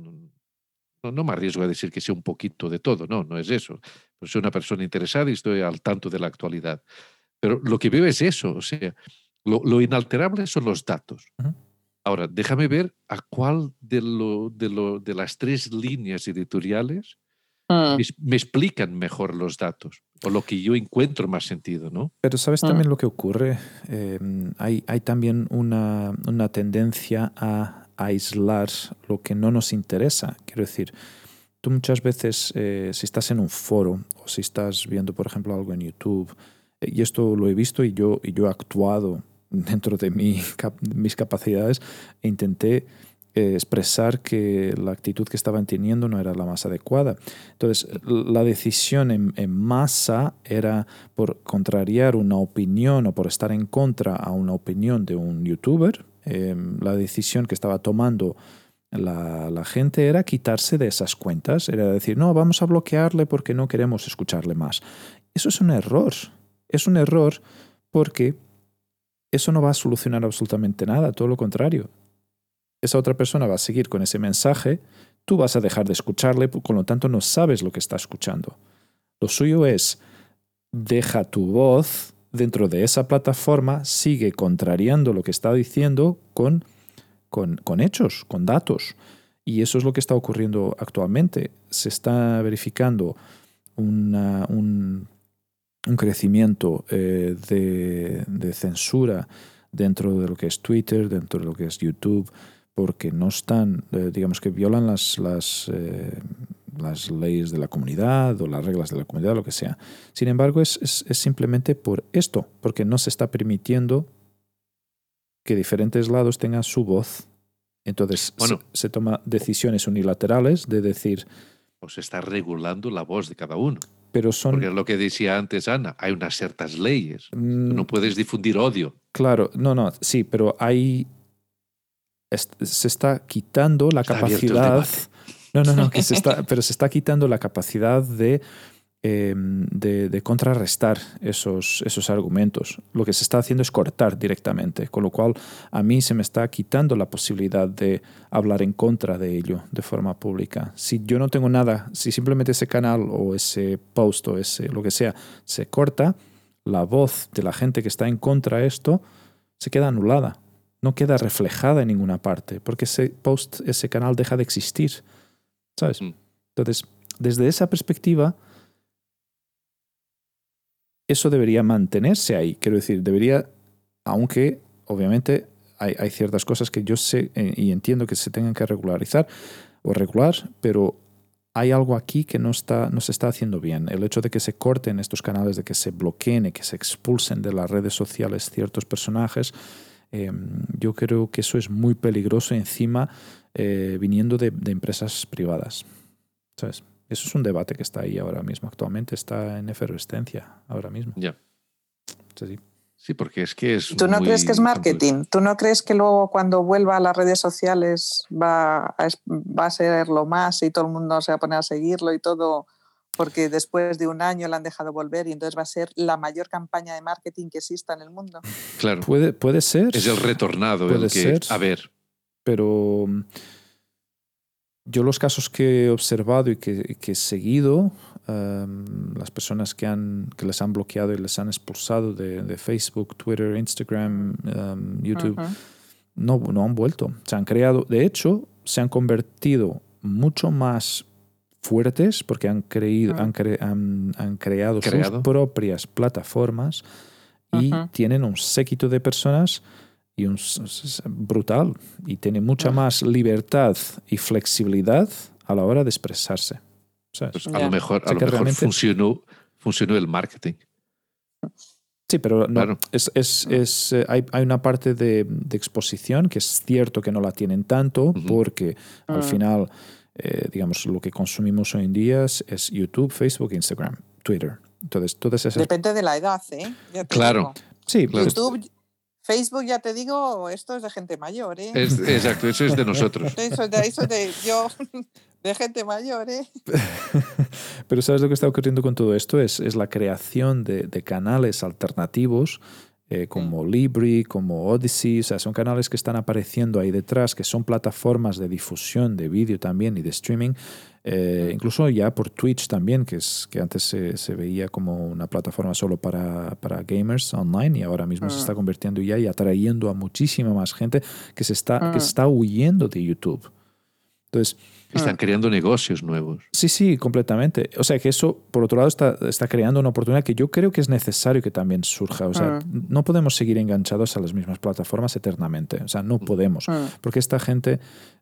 no me arriesgo a decir que sea un poquito de todo, no es eso. Pues soy una persona interesada y estoy al tanto de la actualidad. Pero lo que veo es eso, o sea, lo inalterable son los datos. Ahora, déjame ver a cuál de las 3 líneas editoriales me explican mejor los datos, o lo que yo encuentro más sentido, ¿no? Pero ¿sabes también lo que ocurre? Hay también una tendencia a aislar lo que no nos interesa. Quiero decir, tú muchas veces, si estás en un foro o si estás viendo, por ejemplo, algo en YouTube, y esto lo he visto y yo he actuado dentro de mis capacidades, e intenté expresar que la actitud que estaban teniendo no era la más adecuada. Entonces, la decisión en masa era por contrariar una opinión o por estar en contra a una opinión de un youtuber. La decisión que estaba tomando la gente era quitarse de esas cuentas, era decir, no, vamos a bloquearle porque no queremos escucharle más. Eso es un error. Es un error porque eso no va a solucionar absolutamente nada, todo lo contrario. Esa otra persona va a seguir con ese mensaje, tú vas a dejar de escucharle, con lo tanto no sabes lo que está escuchando. Lo suyo es, deja tu voz dentro de esa plataforma, sigue contrariando lo que está diciendo con hechos, con datos. Y eso es lo que está ocurriendo actualmente. Se está verificando un un crecimiento de censura dentro de lo que es Twitter, dentro de lo que es YouTube, porque no están, digamos que violan las leyes de la comunidad o las reglas de la comunidad, lo que sea. Sin embargo, es simplemente por esto, porque no se está permitiendo que diferentes lados tengan su voz. Entonces se toman decisiones unilaterales de decir... Pues se está regulando la voz de cada uno. Pero porque es lo que decía antes Ana, hay unas ciertas leyes. Tú no puedes difundir odio. Claro, no, sí, pero se está quitando la capacidad... pero se está quitando la capacidad de contrarrestar esos argumentos. Lo que se está haciendo es cortar directamente, con lo cual a mí se me está quitando la posibilidad de hablar en contra de ello de forma pública. Si yo no tengo nada, si simplemente ese canal o ese post o lo que sea se corta, la voz de la gente que está en contra de esto se queda anulada, no queda reflejada en ninguna parte, porque ese post, ese canal deja de existir, ¿sabes? Entonces, desde esa perspectiva, eso debería mantenerse ahí. Quiero decir, debería, aunque obviamente hay ciertas cosas que yo sé y entiendo que se tengan que regularizar o regular, pero hay algo aquí que no se está haciendo bien. El hecho de que se corten estos canales, de que se bloqueen y que se expulsen de las redes sociales ciertos personajes, yo creo que eso es muy peligroso encima viniendo de empresas privadas, ¿sabes? Eso es un debate que está ahí ahora mismo, actualmente está en efervescencia ahora mismo. Ya. Sí. Sí, porque es que es... ¿Tú no crees que es marketing? ¿Tú no crees que luego cuando vuelva a las redes sociales va a ser lo más y todo el mundo se va a poner a seguirlo y todo? Porque después de un año le han dejado volver y entonces va a ser la mayor campaña de marketing que exista en el mundo. Claro. Puede ser. Es el retornado. Puede ser. A ver. Pero yo los casos que he observado y que he seguido, las personas que les han bloqueado y les han expulsado de Facebook, Twitter, Instagram, YouTube, no han vuelto. Se han creado, de hecho, se han convertido mucho más fuertes porque han creado sus propias plataformas y tienen un séquito de personas y brutal, y tiene mucha más libertad y flexibilidad a la hora de expresarse, ¿sabes? Pues a lo mejor realmente funcionó el marketing. Sí, pero no, claro. Hay una parte de exposición que es cierto que no la tienen tanto porque al final, digamos, lo que consumimos hoy en día es YouTube, Facebook, Instagram, Twitter. Entonces, todas esas... Depende de la edad, ¿eh? Claro. Sí, claro. YouTube, Facebook, ya te digo, esto es de gente mayor, ¿eh? Exacto, eso es de nosotros. Eso de gente mayor, ¿eh? Pero ¿sabes lo que está ocurriendo con todo esto? Es la creación de canales alternativos como Libri, como Odyssey. O sea, son canales que están apareciendo ahí detrás, que son plataformas de difusión de vídeo también y de streaming. Incluso ya por Twitch también, que antes se veía como una plataforma solo para gamers online, y ahora mismo se está convirtiendo ya y atrayendo a muchísima más gente que se está huyendo de YouTube. Entonces, están creando negocios nuevos. Sí, completamente. O sea, que eso, por otro lado, está creando una oportunidad que yo creo que es necesario que también surja. O sea, no podemos seguir enganchados a las mismas plataformas eternamente. O sea, no podemos. Porque esta gente,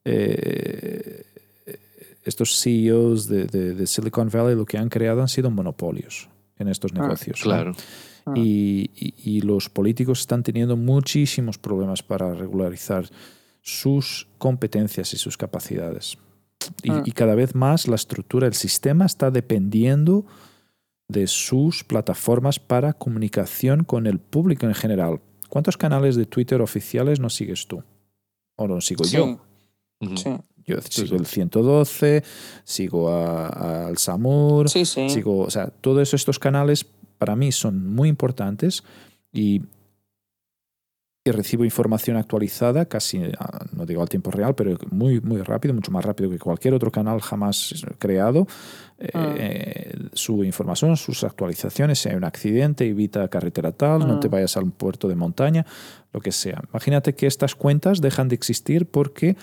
estos CEOs de Silicon Valley, lo que han creado han sido monopolios en estos negocios. Claro. ¿no? Y los políticos están teniendo muchísimos problemas para regularizar sus competencias y sus capacidades. Y cada vez más la estructura del sistema está dependiendo de sus plataformas para comunicación con el público en general. ¿Cuántos canales de Twitter oficiales no sigues tú? ¿O no sigo yo? Sí. Yo sigo el 112, sigo al Samur, sigo... O sea, todos estos canales para mí son muy importantes y recibo información actualizada, casi, no digo al tiempo real, pero muy, muy rápido, mucho más rápido que cualquier otro canal jamás creado. Sube información, sus actualizaciones, si hay un accidente, evita carretera tal, no te vayas a un puerto de montaña, lo que sea. Imagínate que estas cuentas dejan de existir porque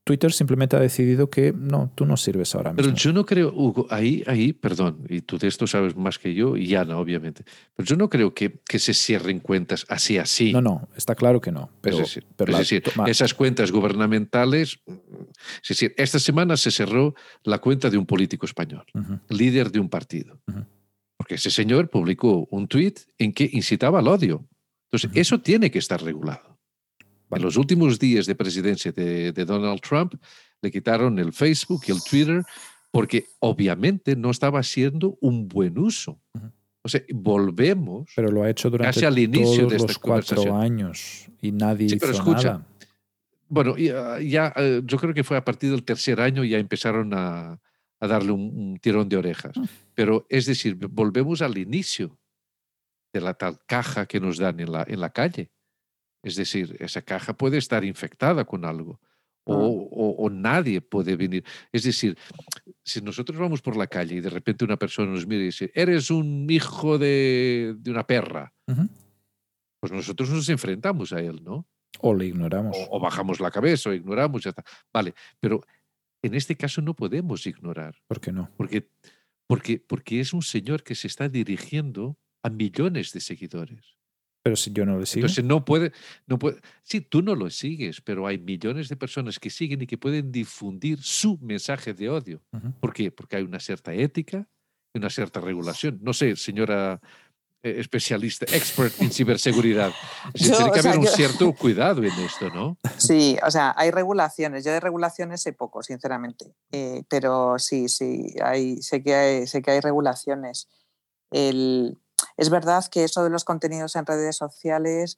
Twitter simplemente ha decidido que no, tú no sirves ahora mismo. Pero yo no creo, Hugo, perdón, y tú de esto sabes más que yo, y Ana, obviamente, pero yo no creo que se cierren cuentas así. No, está claro que no. Pero, es decir, esas cuentas gubernamentales, es decir, esta semana se cerró la cuenta de un político español, líder de un partido, porque ese señor publicó un tuit en que incitaba al odio. Entonces, eso tiene que estar regulado. En los últimos días de presidencia de Donald Trump, le quitaron el Facebook y el Twitter porque obviamente no estaba haciendo un buen uso. O sea, volvemos pero lo ha hecho durante casi al inicio todos de esta los 4 años y nadie hizo nada. Bueno, ya, yo creo que fue a partir del tercer año ya empezaron a darle un tirón de orejas. Pero es decir, volvemos al inicio de la tal caja que nos dan en la calle. Es decir, esa caja puede estar infectada con algo o nadie puede venir. Es decir, si nosotros vamos por la calle y de repente una persona nos mira y dice, eres un hijo de una perra, pues nosotros nos enfrentamos a él, ¿no? O le ignoramos. O bajamos la cabeza o ignoramos, ya está. Vale, pero en este caso no podemos ignorar. ¿Por qué no? Porque es un señor que se está dirigiendo a millones de seguidores. Pero si yo no le sigo. Entonces no puede. Sí, tú no lo sigues, pero hay millones de personas que siguen y que pueden difundir su mensaje de odio. ¿Por qué? Porque hay una cierta ética y una cierta regulación. No sé, señora especialista, expert en ciberseguridad. Tiene que haber un cierto cuidado en esto, ¿no? Sí, o sea, hay regulaciones. Yo de regulaciones sé poco, sinceramente. Pero sí, sé que hay regulaciones. Es verdad que eso de los contenidos en redes sociales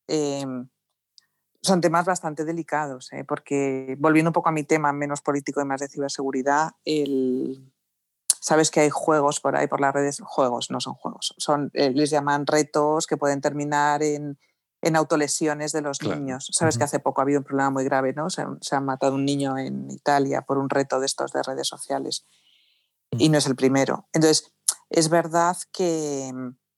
son temas bastante delicados, porque volviendo un poco a mi tema menos político y más de ciberseguridad, sabes que hay juegos por ahí por las redes, juegos, no son juegos, les llaman retos que pueden terminar en autolesiones de los niños. Sabes que hace poco ha habido un problema muy grave, ¿no? Se ha matado un niño en Italia por un reto de estos de redes sociales y no es el primero. Entonces, es verdad que,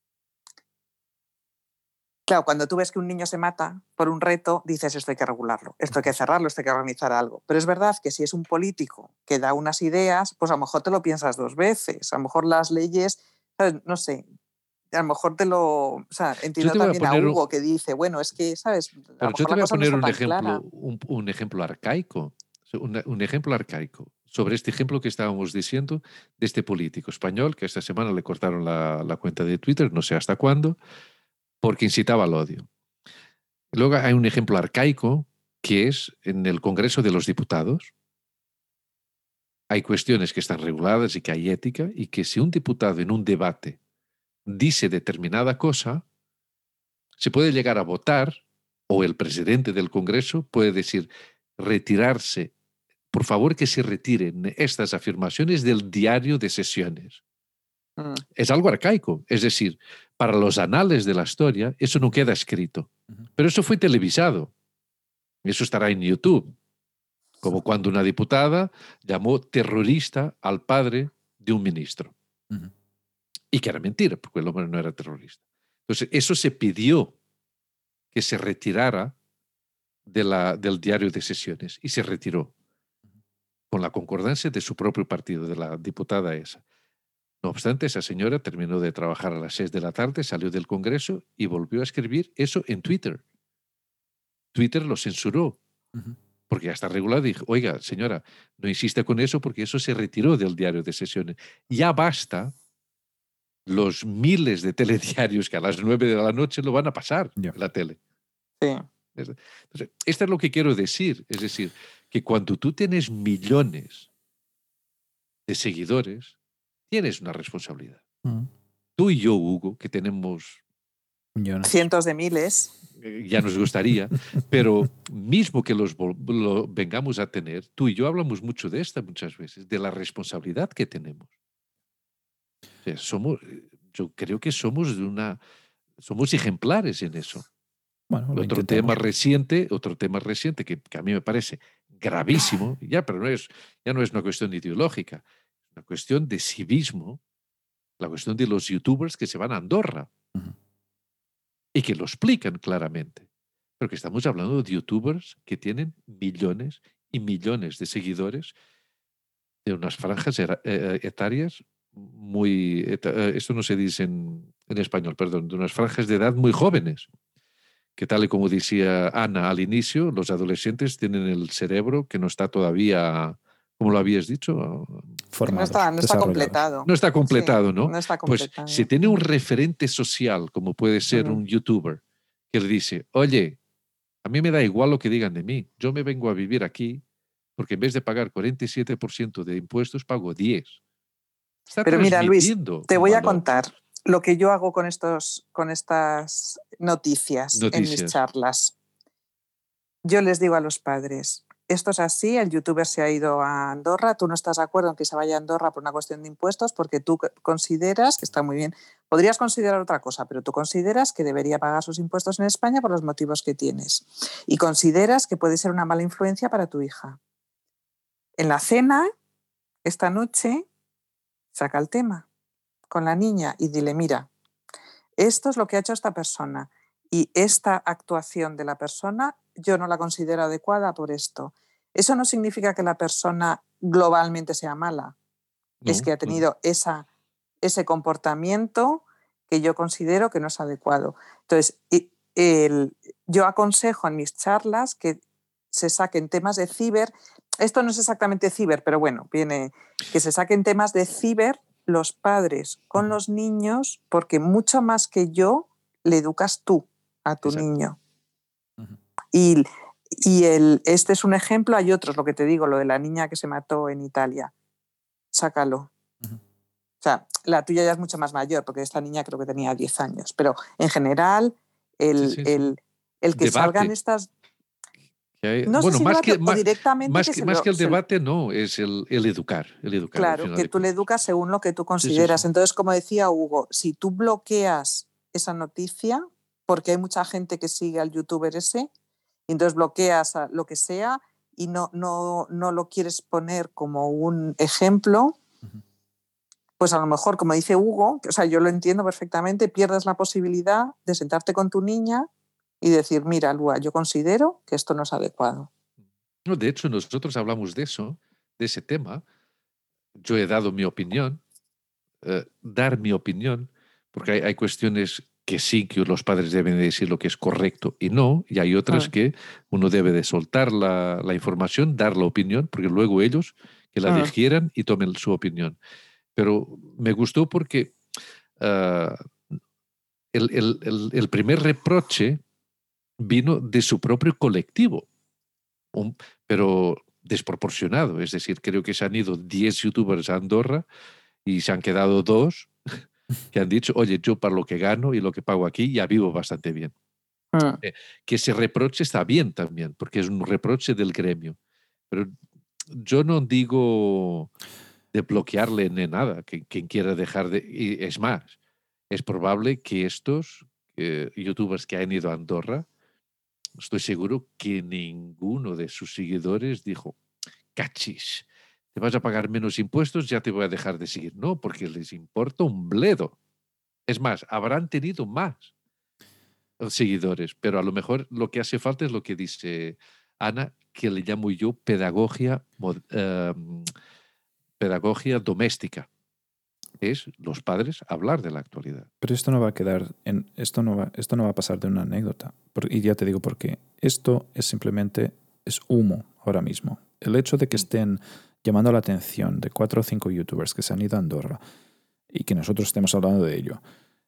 claro, cuando tú ves que un niño se mata por un reto, dices, esto hay que regularlo, esto hay que cerrarlo, esto hay que organizar algo. Pero es verdad que si es un político que da unas ideas, pues a lo mejor te lo piensas 2 veces. A lo mejor las leyes, ¿sabes? No sé, a lo mejor o sea, entiendo también a Hugo que dice, bueno, es que, ¿sabes? Pero yo te voy a poner un ejemplo arcaico. Un ejemplo arcaico sobre este ejemplo que estábamos diciendo de este político español que esta semana le cortaron la cuenta de Twitter, no sé hasta cuándo, porque incitaba al odio. Luego hay un ejemplo arcaico que es en el Congreso de los Diputados. Hay cuestiones que están reguladas y que hay ética y que si un diputado en un debate dice determinada cosa, se puede llegar a votar o el presidente del Congreso puede decir retirarse, por favor que se retiren estas afirmaciones del diario de sesiones. Es algo arcaico, es decir, para los anales de la historia eso no queda escrito, pero eso fue televisado, eso estará en YouTube, como cuando una diputada llamó terrorista al padre de un ministro, y que era mentira, porque el hombre no era terrorista. Entonces, eso se pidió que se retirara del diario de sesiones, y se retiró, con la concordancia de su propio partido, de la diputada esa. No obstante, esa señora terminó de trabajar a las 6 de la tarde, salió del Congreso y volvió a escribir eso en Twitter. Twitter lo censuró, porque ya está regulado. Y dijo, oiga, señora, no insista con eso porque eso se retiró del diario de sesiones. Ya basta los miles de telediarios que a las 9 de la noche lo van a pasar en la tele. Sí. Entonces, esto es lo que quiero decir. Es decir, que cuando tú tienes millones de seguidores, tienes una responsabilidad. Tú y yo, Hugo, que tenemos cientos de miles, ya nos gustaría, pero mismo que lo vengamos a tener, tú y yo hablamos mucho de esta muchas veces, de la responsabilidad que tenemos. O sea, yo creo que somos ejemplares en eso. Bueno, otro tema reciente que a mí me parece gravísimo, pero ya no es una cuestión ideológica, es una cuestión de civismo, la cuestión de los youtubers que se van a Andorra y que lo explican claramente. Pero que estamos hablando de youtubers que tienen millones y millones de seguidores de unas franjas etarias muy... esto no se dice en español, perdón, de unas franjas de edad muy jóvenes, que tal y como decía Ana al inicio, los adolescentes tienen el cerebro que no está todavía, como lo habías dicho, Formados, no está completado. No está completado, Sí, ¿no? no está Pues completado. si tiene un referente social, como puede ser un youtuber, que le dice, oye, a mí me da igual lo que digan de mí, yo me vengo a vivir aquí porque en vez de pagar 47% de impuestos, pago 10%. Está Pero mira, Luis, te voy a contar lo que yo hago con estas noticias en mis charlas. Yo les digo a los padres, esto es así, el youtuber se ha ido a Andorra, tú no estás de acuerdo en que se vaya a Andorra por una cuestión de impuestos porque tú consideras, que está muy bien, podrías considerar otra cosa, pero tú consideras que debería pagar sus impuestos en España por los motivos que tienes y consideras que puede ser una mala influencia para tu hija. En la cena, esta noche, saca el tema con la niña y dile, mira, esto es lo que ha hecho esta persona y esta actuación de la persona yo no la considero adecuada por esto. Eso no significa que la persona globalmente sea mala. No, es que ha tenido ese comportamiento que yo considero que no es adecuado. Entonces, yo aconsejo en mis charlas que se saquen temas de ciber. Esto no es exactamente ciber, pero bueno, viene que se saquen temas de ciber los padres con los niños, porque mucho más que yo le educas tú a tu niño. Y este es un ejemplo, hay otros, lo que te digo, lo de la niña que se mató en Italia. Sácalo. O sea, la tuya ya es mucho más mayor, porque esta niña creo que tenía 10 años. Pero en general, el que debate. Salgan estas... No bueno, sé si más que el debate, no, es el educar. Claro, que tú le educas según lo que tú consideras. Sí. Entonces, como decía Hugo, si tú bloqueas esa noticia, porque hay mucha gente que sigue al youtuber ese, y entonces bloqueas lo que sea y no lo quieres poner como un ejemplo, pues a lo mejor, como dice Hugo, o sea, yo lo entiendo perfectamente, pierdes la posibilidad de sentarte con tu niña y decir, mira, Lua, yo considero que esto no es adecuado. No, de hecho, nosotros hablamos de ese tema. Yo he dado mi opinión, dar mi opinión, porque hay cuestiones que sí, que los padres deben decir lo que es correcto y no, y hay otras que uno debe de soltar la información, dar la opinión, porque luego ellos que la digieran y tomen su opinión. Pero me gustó porque el primer reproche vino de su propio colectivo, pero desproporcionado. Es decir, creo que se han ido 10 youtubers a Andorra y se han quedado 2 que han dicho, oye, yo para lo que gano y lo que pago aquí ya vivo bastante bien. Que ese reproche está bien también, porque es un reproche del gremio. Pero yo no digo de bloquearle ni nada, que quien quiera dejar de... Y es más, es probable que estos youtubers que han ido a Andorra, estoy seguro que ninguno de sus seguidores dijo, cachis, te vas a pagar menos impuestos, ya te voy a dejar de seguir. No, porque les importa un bledo. Es más, habrán tenido más seguidores, pero a lo mejor lo que hace falta es lo que dice Ana, que le llamo yo pedagogía doméstica. Es los padres hablar de la actualidad. Pero esto no va a quedar esto no va a pasar de una anécdota. Y ya te digo por qué. Esto es simplemente humo ahora mismo. El hecho de que estén llamando la atención de 4 o 5 youtubers que se han ido a Andorra y que nosotros estemos hablando de ello.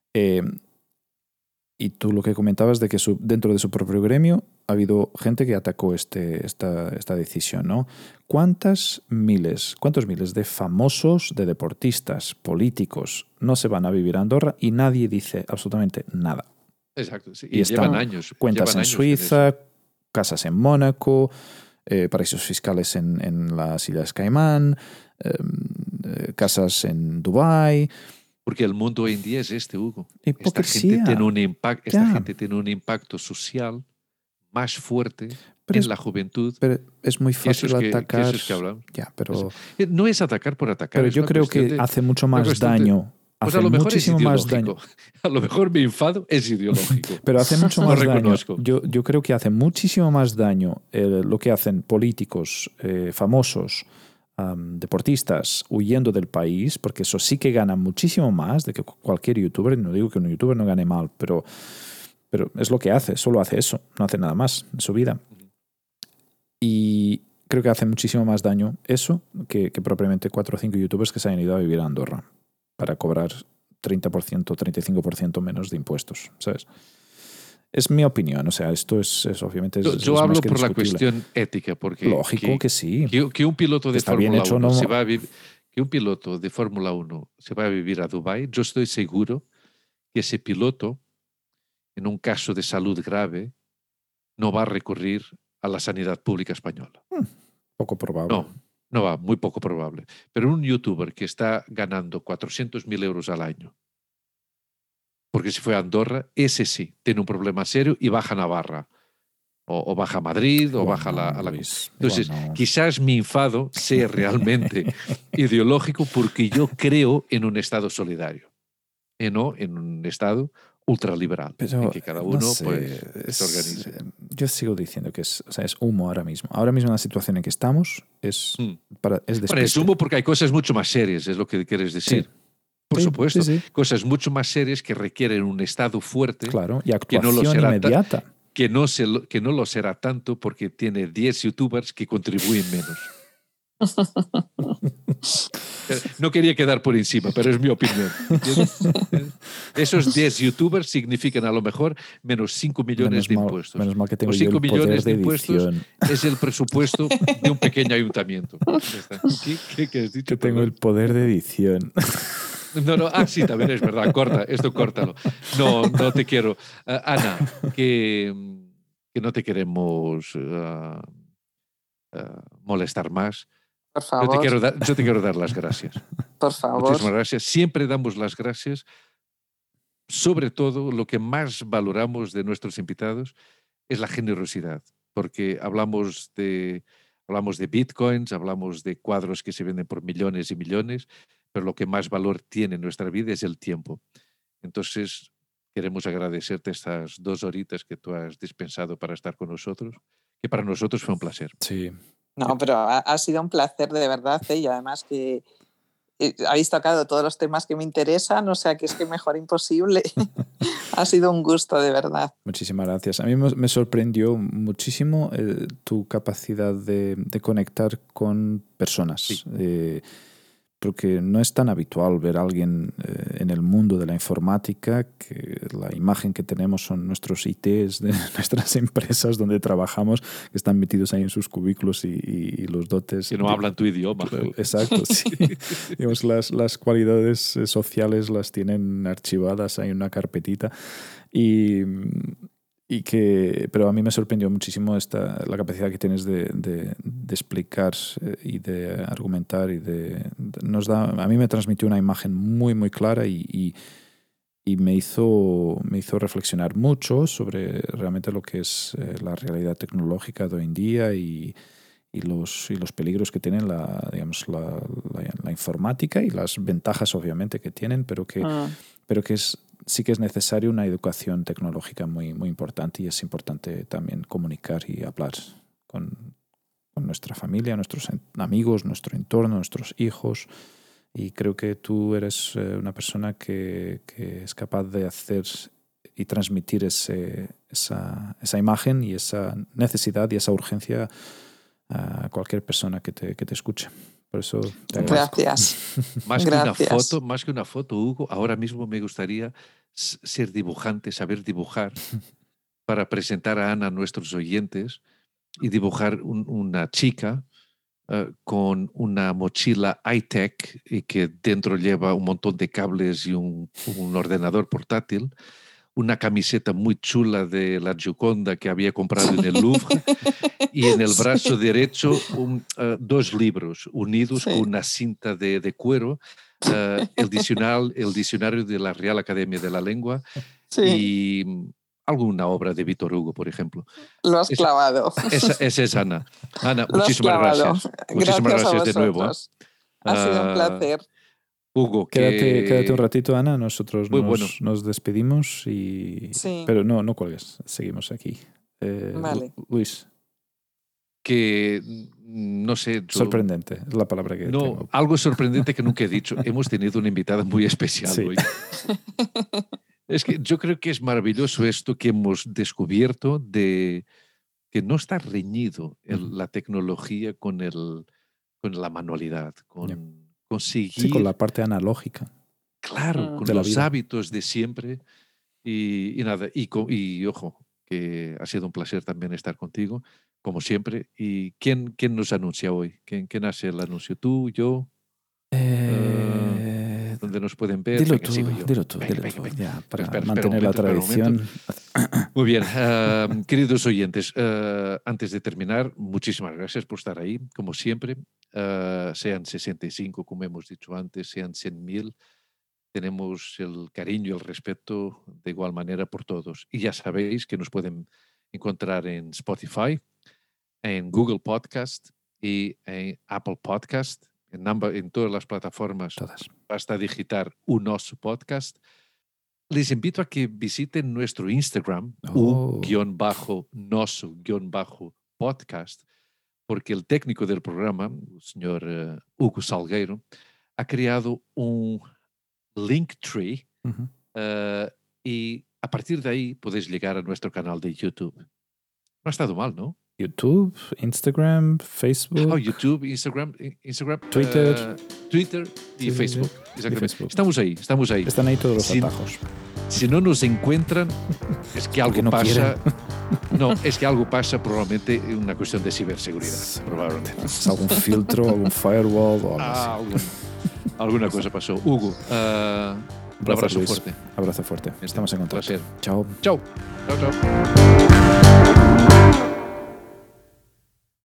Y tú lo que comentabas de que dentro de su propio gremio ha habido gente que atacó esta decisión, ¿no? ¿Cuántos miles de famosos, de deportistas, políticos no se van a vivir a Andorra y nadie dice absolutamente nada? Exacto, sí. Y llevan años. Cuentas en Suiza, casas en Mónaco, paraísos fiscales en las Islas Caimán, casas en Dubái. Porque el mundo hoy en día es Hugo. Esta gente tiene un impacto social más fuerte en la juventud. Pero es muy fácil atacar. Que hablamos. Ya, pero no es atacar por atacar. Pero yo creo que hace mucho más daño Pues hace a lo mejor es muchísimo más ideológico. daño. A lo mejor mi enfado es ideológico. Pero hace mucho Lo más daño. reconozco. Yo creo que hace muchísimo más daño lo que hacen políticos famosos, deportistas huyendo del país, porque eso sí que gana muchísimo más de que cualquier youtuber. No digo que un youtuber no gane mal, pero es lo que hace, solo hace eso, no hace nada más en su vida. Y creo que hace muchísimo más daño eso que propiamente 4 o 5 youtubers que se hayan ido a vivir a Andorra para cobrar 30%, 35% menos de impuestos, ¿sabes? Es mi opinión, o sea, esto es obviamente... Yo es hablo más que por la discutible. cuestión ética, porque... Lógico que sí. Que un piloto de Está bien Fórmula hecho, 1 ¿no? se va a vivir... Que un piloto de Fórmula 1 se va a vivir a Dubái, yo estoy seguro que ese piloto, en un caso de salud grave, no va a recurrir a la sanidad pública española. Poco probable. No va, muy poco probable. Pero un youtuber que está ganando 400.000 euros al año, porque si fue a Andorra, ese sí, tiene un problema serio y baja a Navarra. O baja a Madrid, o Igual baja no, a la... Luis, Entonces, no. quizás mi enfado sea realmente ideológico porque yo creo en un Estado solidario, y no en un Estado ultraliberal, Pero, en que cada uno no sé, pues, se organice. Yo sigo diciendo que es humo ahora mismo. Ahora mismo en la situación en que estamos es Bueno, es humo porque hay cosas mucho más serias, es lo que quieres decir. Sí. Por supuesto, sí. cosas mucho más serias que requieren un Estado fuerte. Claro, y que no lo actuación será inmediata. Que no lo será tanto porque tiene 10 youtubers que contribuyen menos. No quería quedar por encima, pero es mi opinión. Esos 10 youtubers significan a lo mejor menos 5 millones de impuestos. Menos mal que tengo Los yo 5 el millones poder de de impuestos edición. es el presupuesto de un pequeño ayuntamiento. ¿Qué has dicho? Que tengo el poder de edición. No, sí, también es verdad. Esto córtalo. No te quiero. Ana, que no te queremos molestar más. Por favor. Yo te quiero dar las gracias. Por favor. Muchísimas gracias. Siempre damos las gracias. Sobre todo, lo que más valoramos de nuestros invitados es la generosidad, porque hablamos de bitcoins, hablamos de cuadros que se venden por millones y millones, pero lo que más valor tiene en nuestra vida es el tiempo. Entonces, queremos agradecerte estas 2 horitas que tú has dispensado para estar con nosotros, que para nosotros fue un placer. Sí. No, pero ha sido un placer de verdad, y además que habéis tocado todos los temas que me interesan, o sea que es que mejor imposible. Ha sido un gusto, de verdad. Muchísimas gracias. A mí me sorprendió muchísimo tu capacidad de conectar con personas. Sí. Porque no es tan habitual ver a alguien en el mundo de la informática, que la imagen que tenemos son nuestros ITs de nuestras empresas donde trabajamos, que están metidos ahí en sus cubículos y los dotes. Que no hablan tu idioma. Exacto, sí. Digamos, las cualidades sociales las tienen archivadas ahí en una carpetita. Pero a mí me sorprendió muchísimo la capacidad que tienes de explicar y de argumentar a mí me transmitió una imagen muy muy clara y me hizo reflexionar mucho sobre realmente lo que es la realidad tecnológica de hoy en día y los peligros que tienen la informática y las ventajas obviamente que tienen, pero que sí que es necesario una educación tecnológica muy, muy importante, y es importante también comunicar y hablar con nuestra familia, nuestros amigos, nuestro entorno, nuestros hijos. Y creo que tú eres una persona que es capaz de hacer y transmitir esa imagen y esa necesidad y esa urgencia a cualquier persona que te escuche. Por eso te agradezco. Gracias. Más que una foto, Hugo, ahora mismo me gustaría ser dibujante, saber dibujar, para presentar a Ana a nuestros oyentes y dibujar una chica con una mochila high-tech y que dentro lleva un montón de cables y un ordenador portátil, una camiseta muy chula de la Gioconda que había comprado en el Louvre y en el brazo derecho 2 libros unidos con una cinta de cuero, el diccionario de la Real Academia de la Lengua y alguna obra de Víctor Hugo, por ejemplo. Lo has clavado. Esa es Ana. Ana, muchísimas gracias. Muchísimas gracias de nuevo. Ha sido un placer. Hugo, Quédate un ratito, Ana. Nosotros Muy nos, bueno. nos despedimos y... Sí. Pero no cuelgues. Seguimos aquí. Vale. Luis, que no sé. sorprendente es la palabra que No, tengo. algo sorprendente que nunca he dicho. Hemos tenido una invitada muy especial Sí. hoy. Es que yo creo que es maravilloso esto que hemos descubierto de que no está reñido la tecnología con la manualidad, con conseguir, Sí, con la parte analógica. claro, con de la los vida. hábitos de siempre y nada, y ojo, que ha sido un placer también estar contigo, como siempre. ¿Y quién nos anuncia hoy? ¿Quién hace el anuncio? ¿Tú, yo? ¿Dónde nos pueden ver? Dilo Venga, tú, sigo yo. dilo tú, Venga, dilo tú, venga. ya, para Espera un mantener la momento, espera un momento. tradición. Muy bien, queridos oyentes, antes de terminar, muchísimas gracias por estar ahí, como siempre. Sean 65, como hemos dicho antes, sean 100.000, tenemos el cariño y el respeto de igual manera por todos. Y ya sabéis que nos pueden encontrar en Spotify, en Google Podcast y en Apple Podcast, en todas las plataformas. Todas. Basta digitar un Nosso Podcast. Les invito a que visiten nuestro Instagram, _nosso_podcast, porque el técnico del programa, el señor Hugo Salgueiro, ha creado un Linktree y a partir de ahí podéis llegar a nuestro canal de YouTube. No ha estado mal, ¿no? YouTube, Instagram, Facebook. YouTube, Instagram, Twitter. Twitter y Sí, Facebook. sí. Exactamente. Y Facebook. Estamos ahí. Están ahí todos los Si- atajos. Si no nos encuentran, es que algo Porque no pasa. No, es que algo pasa, probablemente una cuestión de ciberseguridad. Probablemente. Es algún filtro, algún firewall o algo así. Alguna cosa pasó. Hugo, un abrazo Luis. fuerte. Abrazo fuerte. Estamos en contacto. Placer. Chao. Chao. Chao, chao.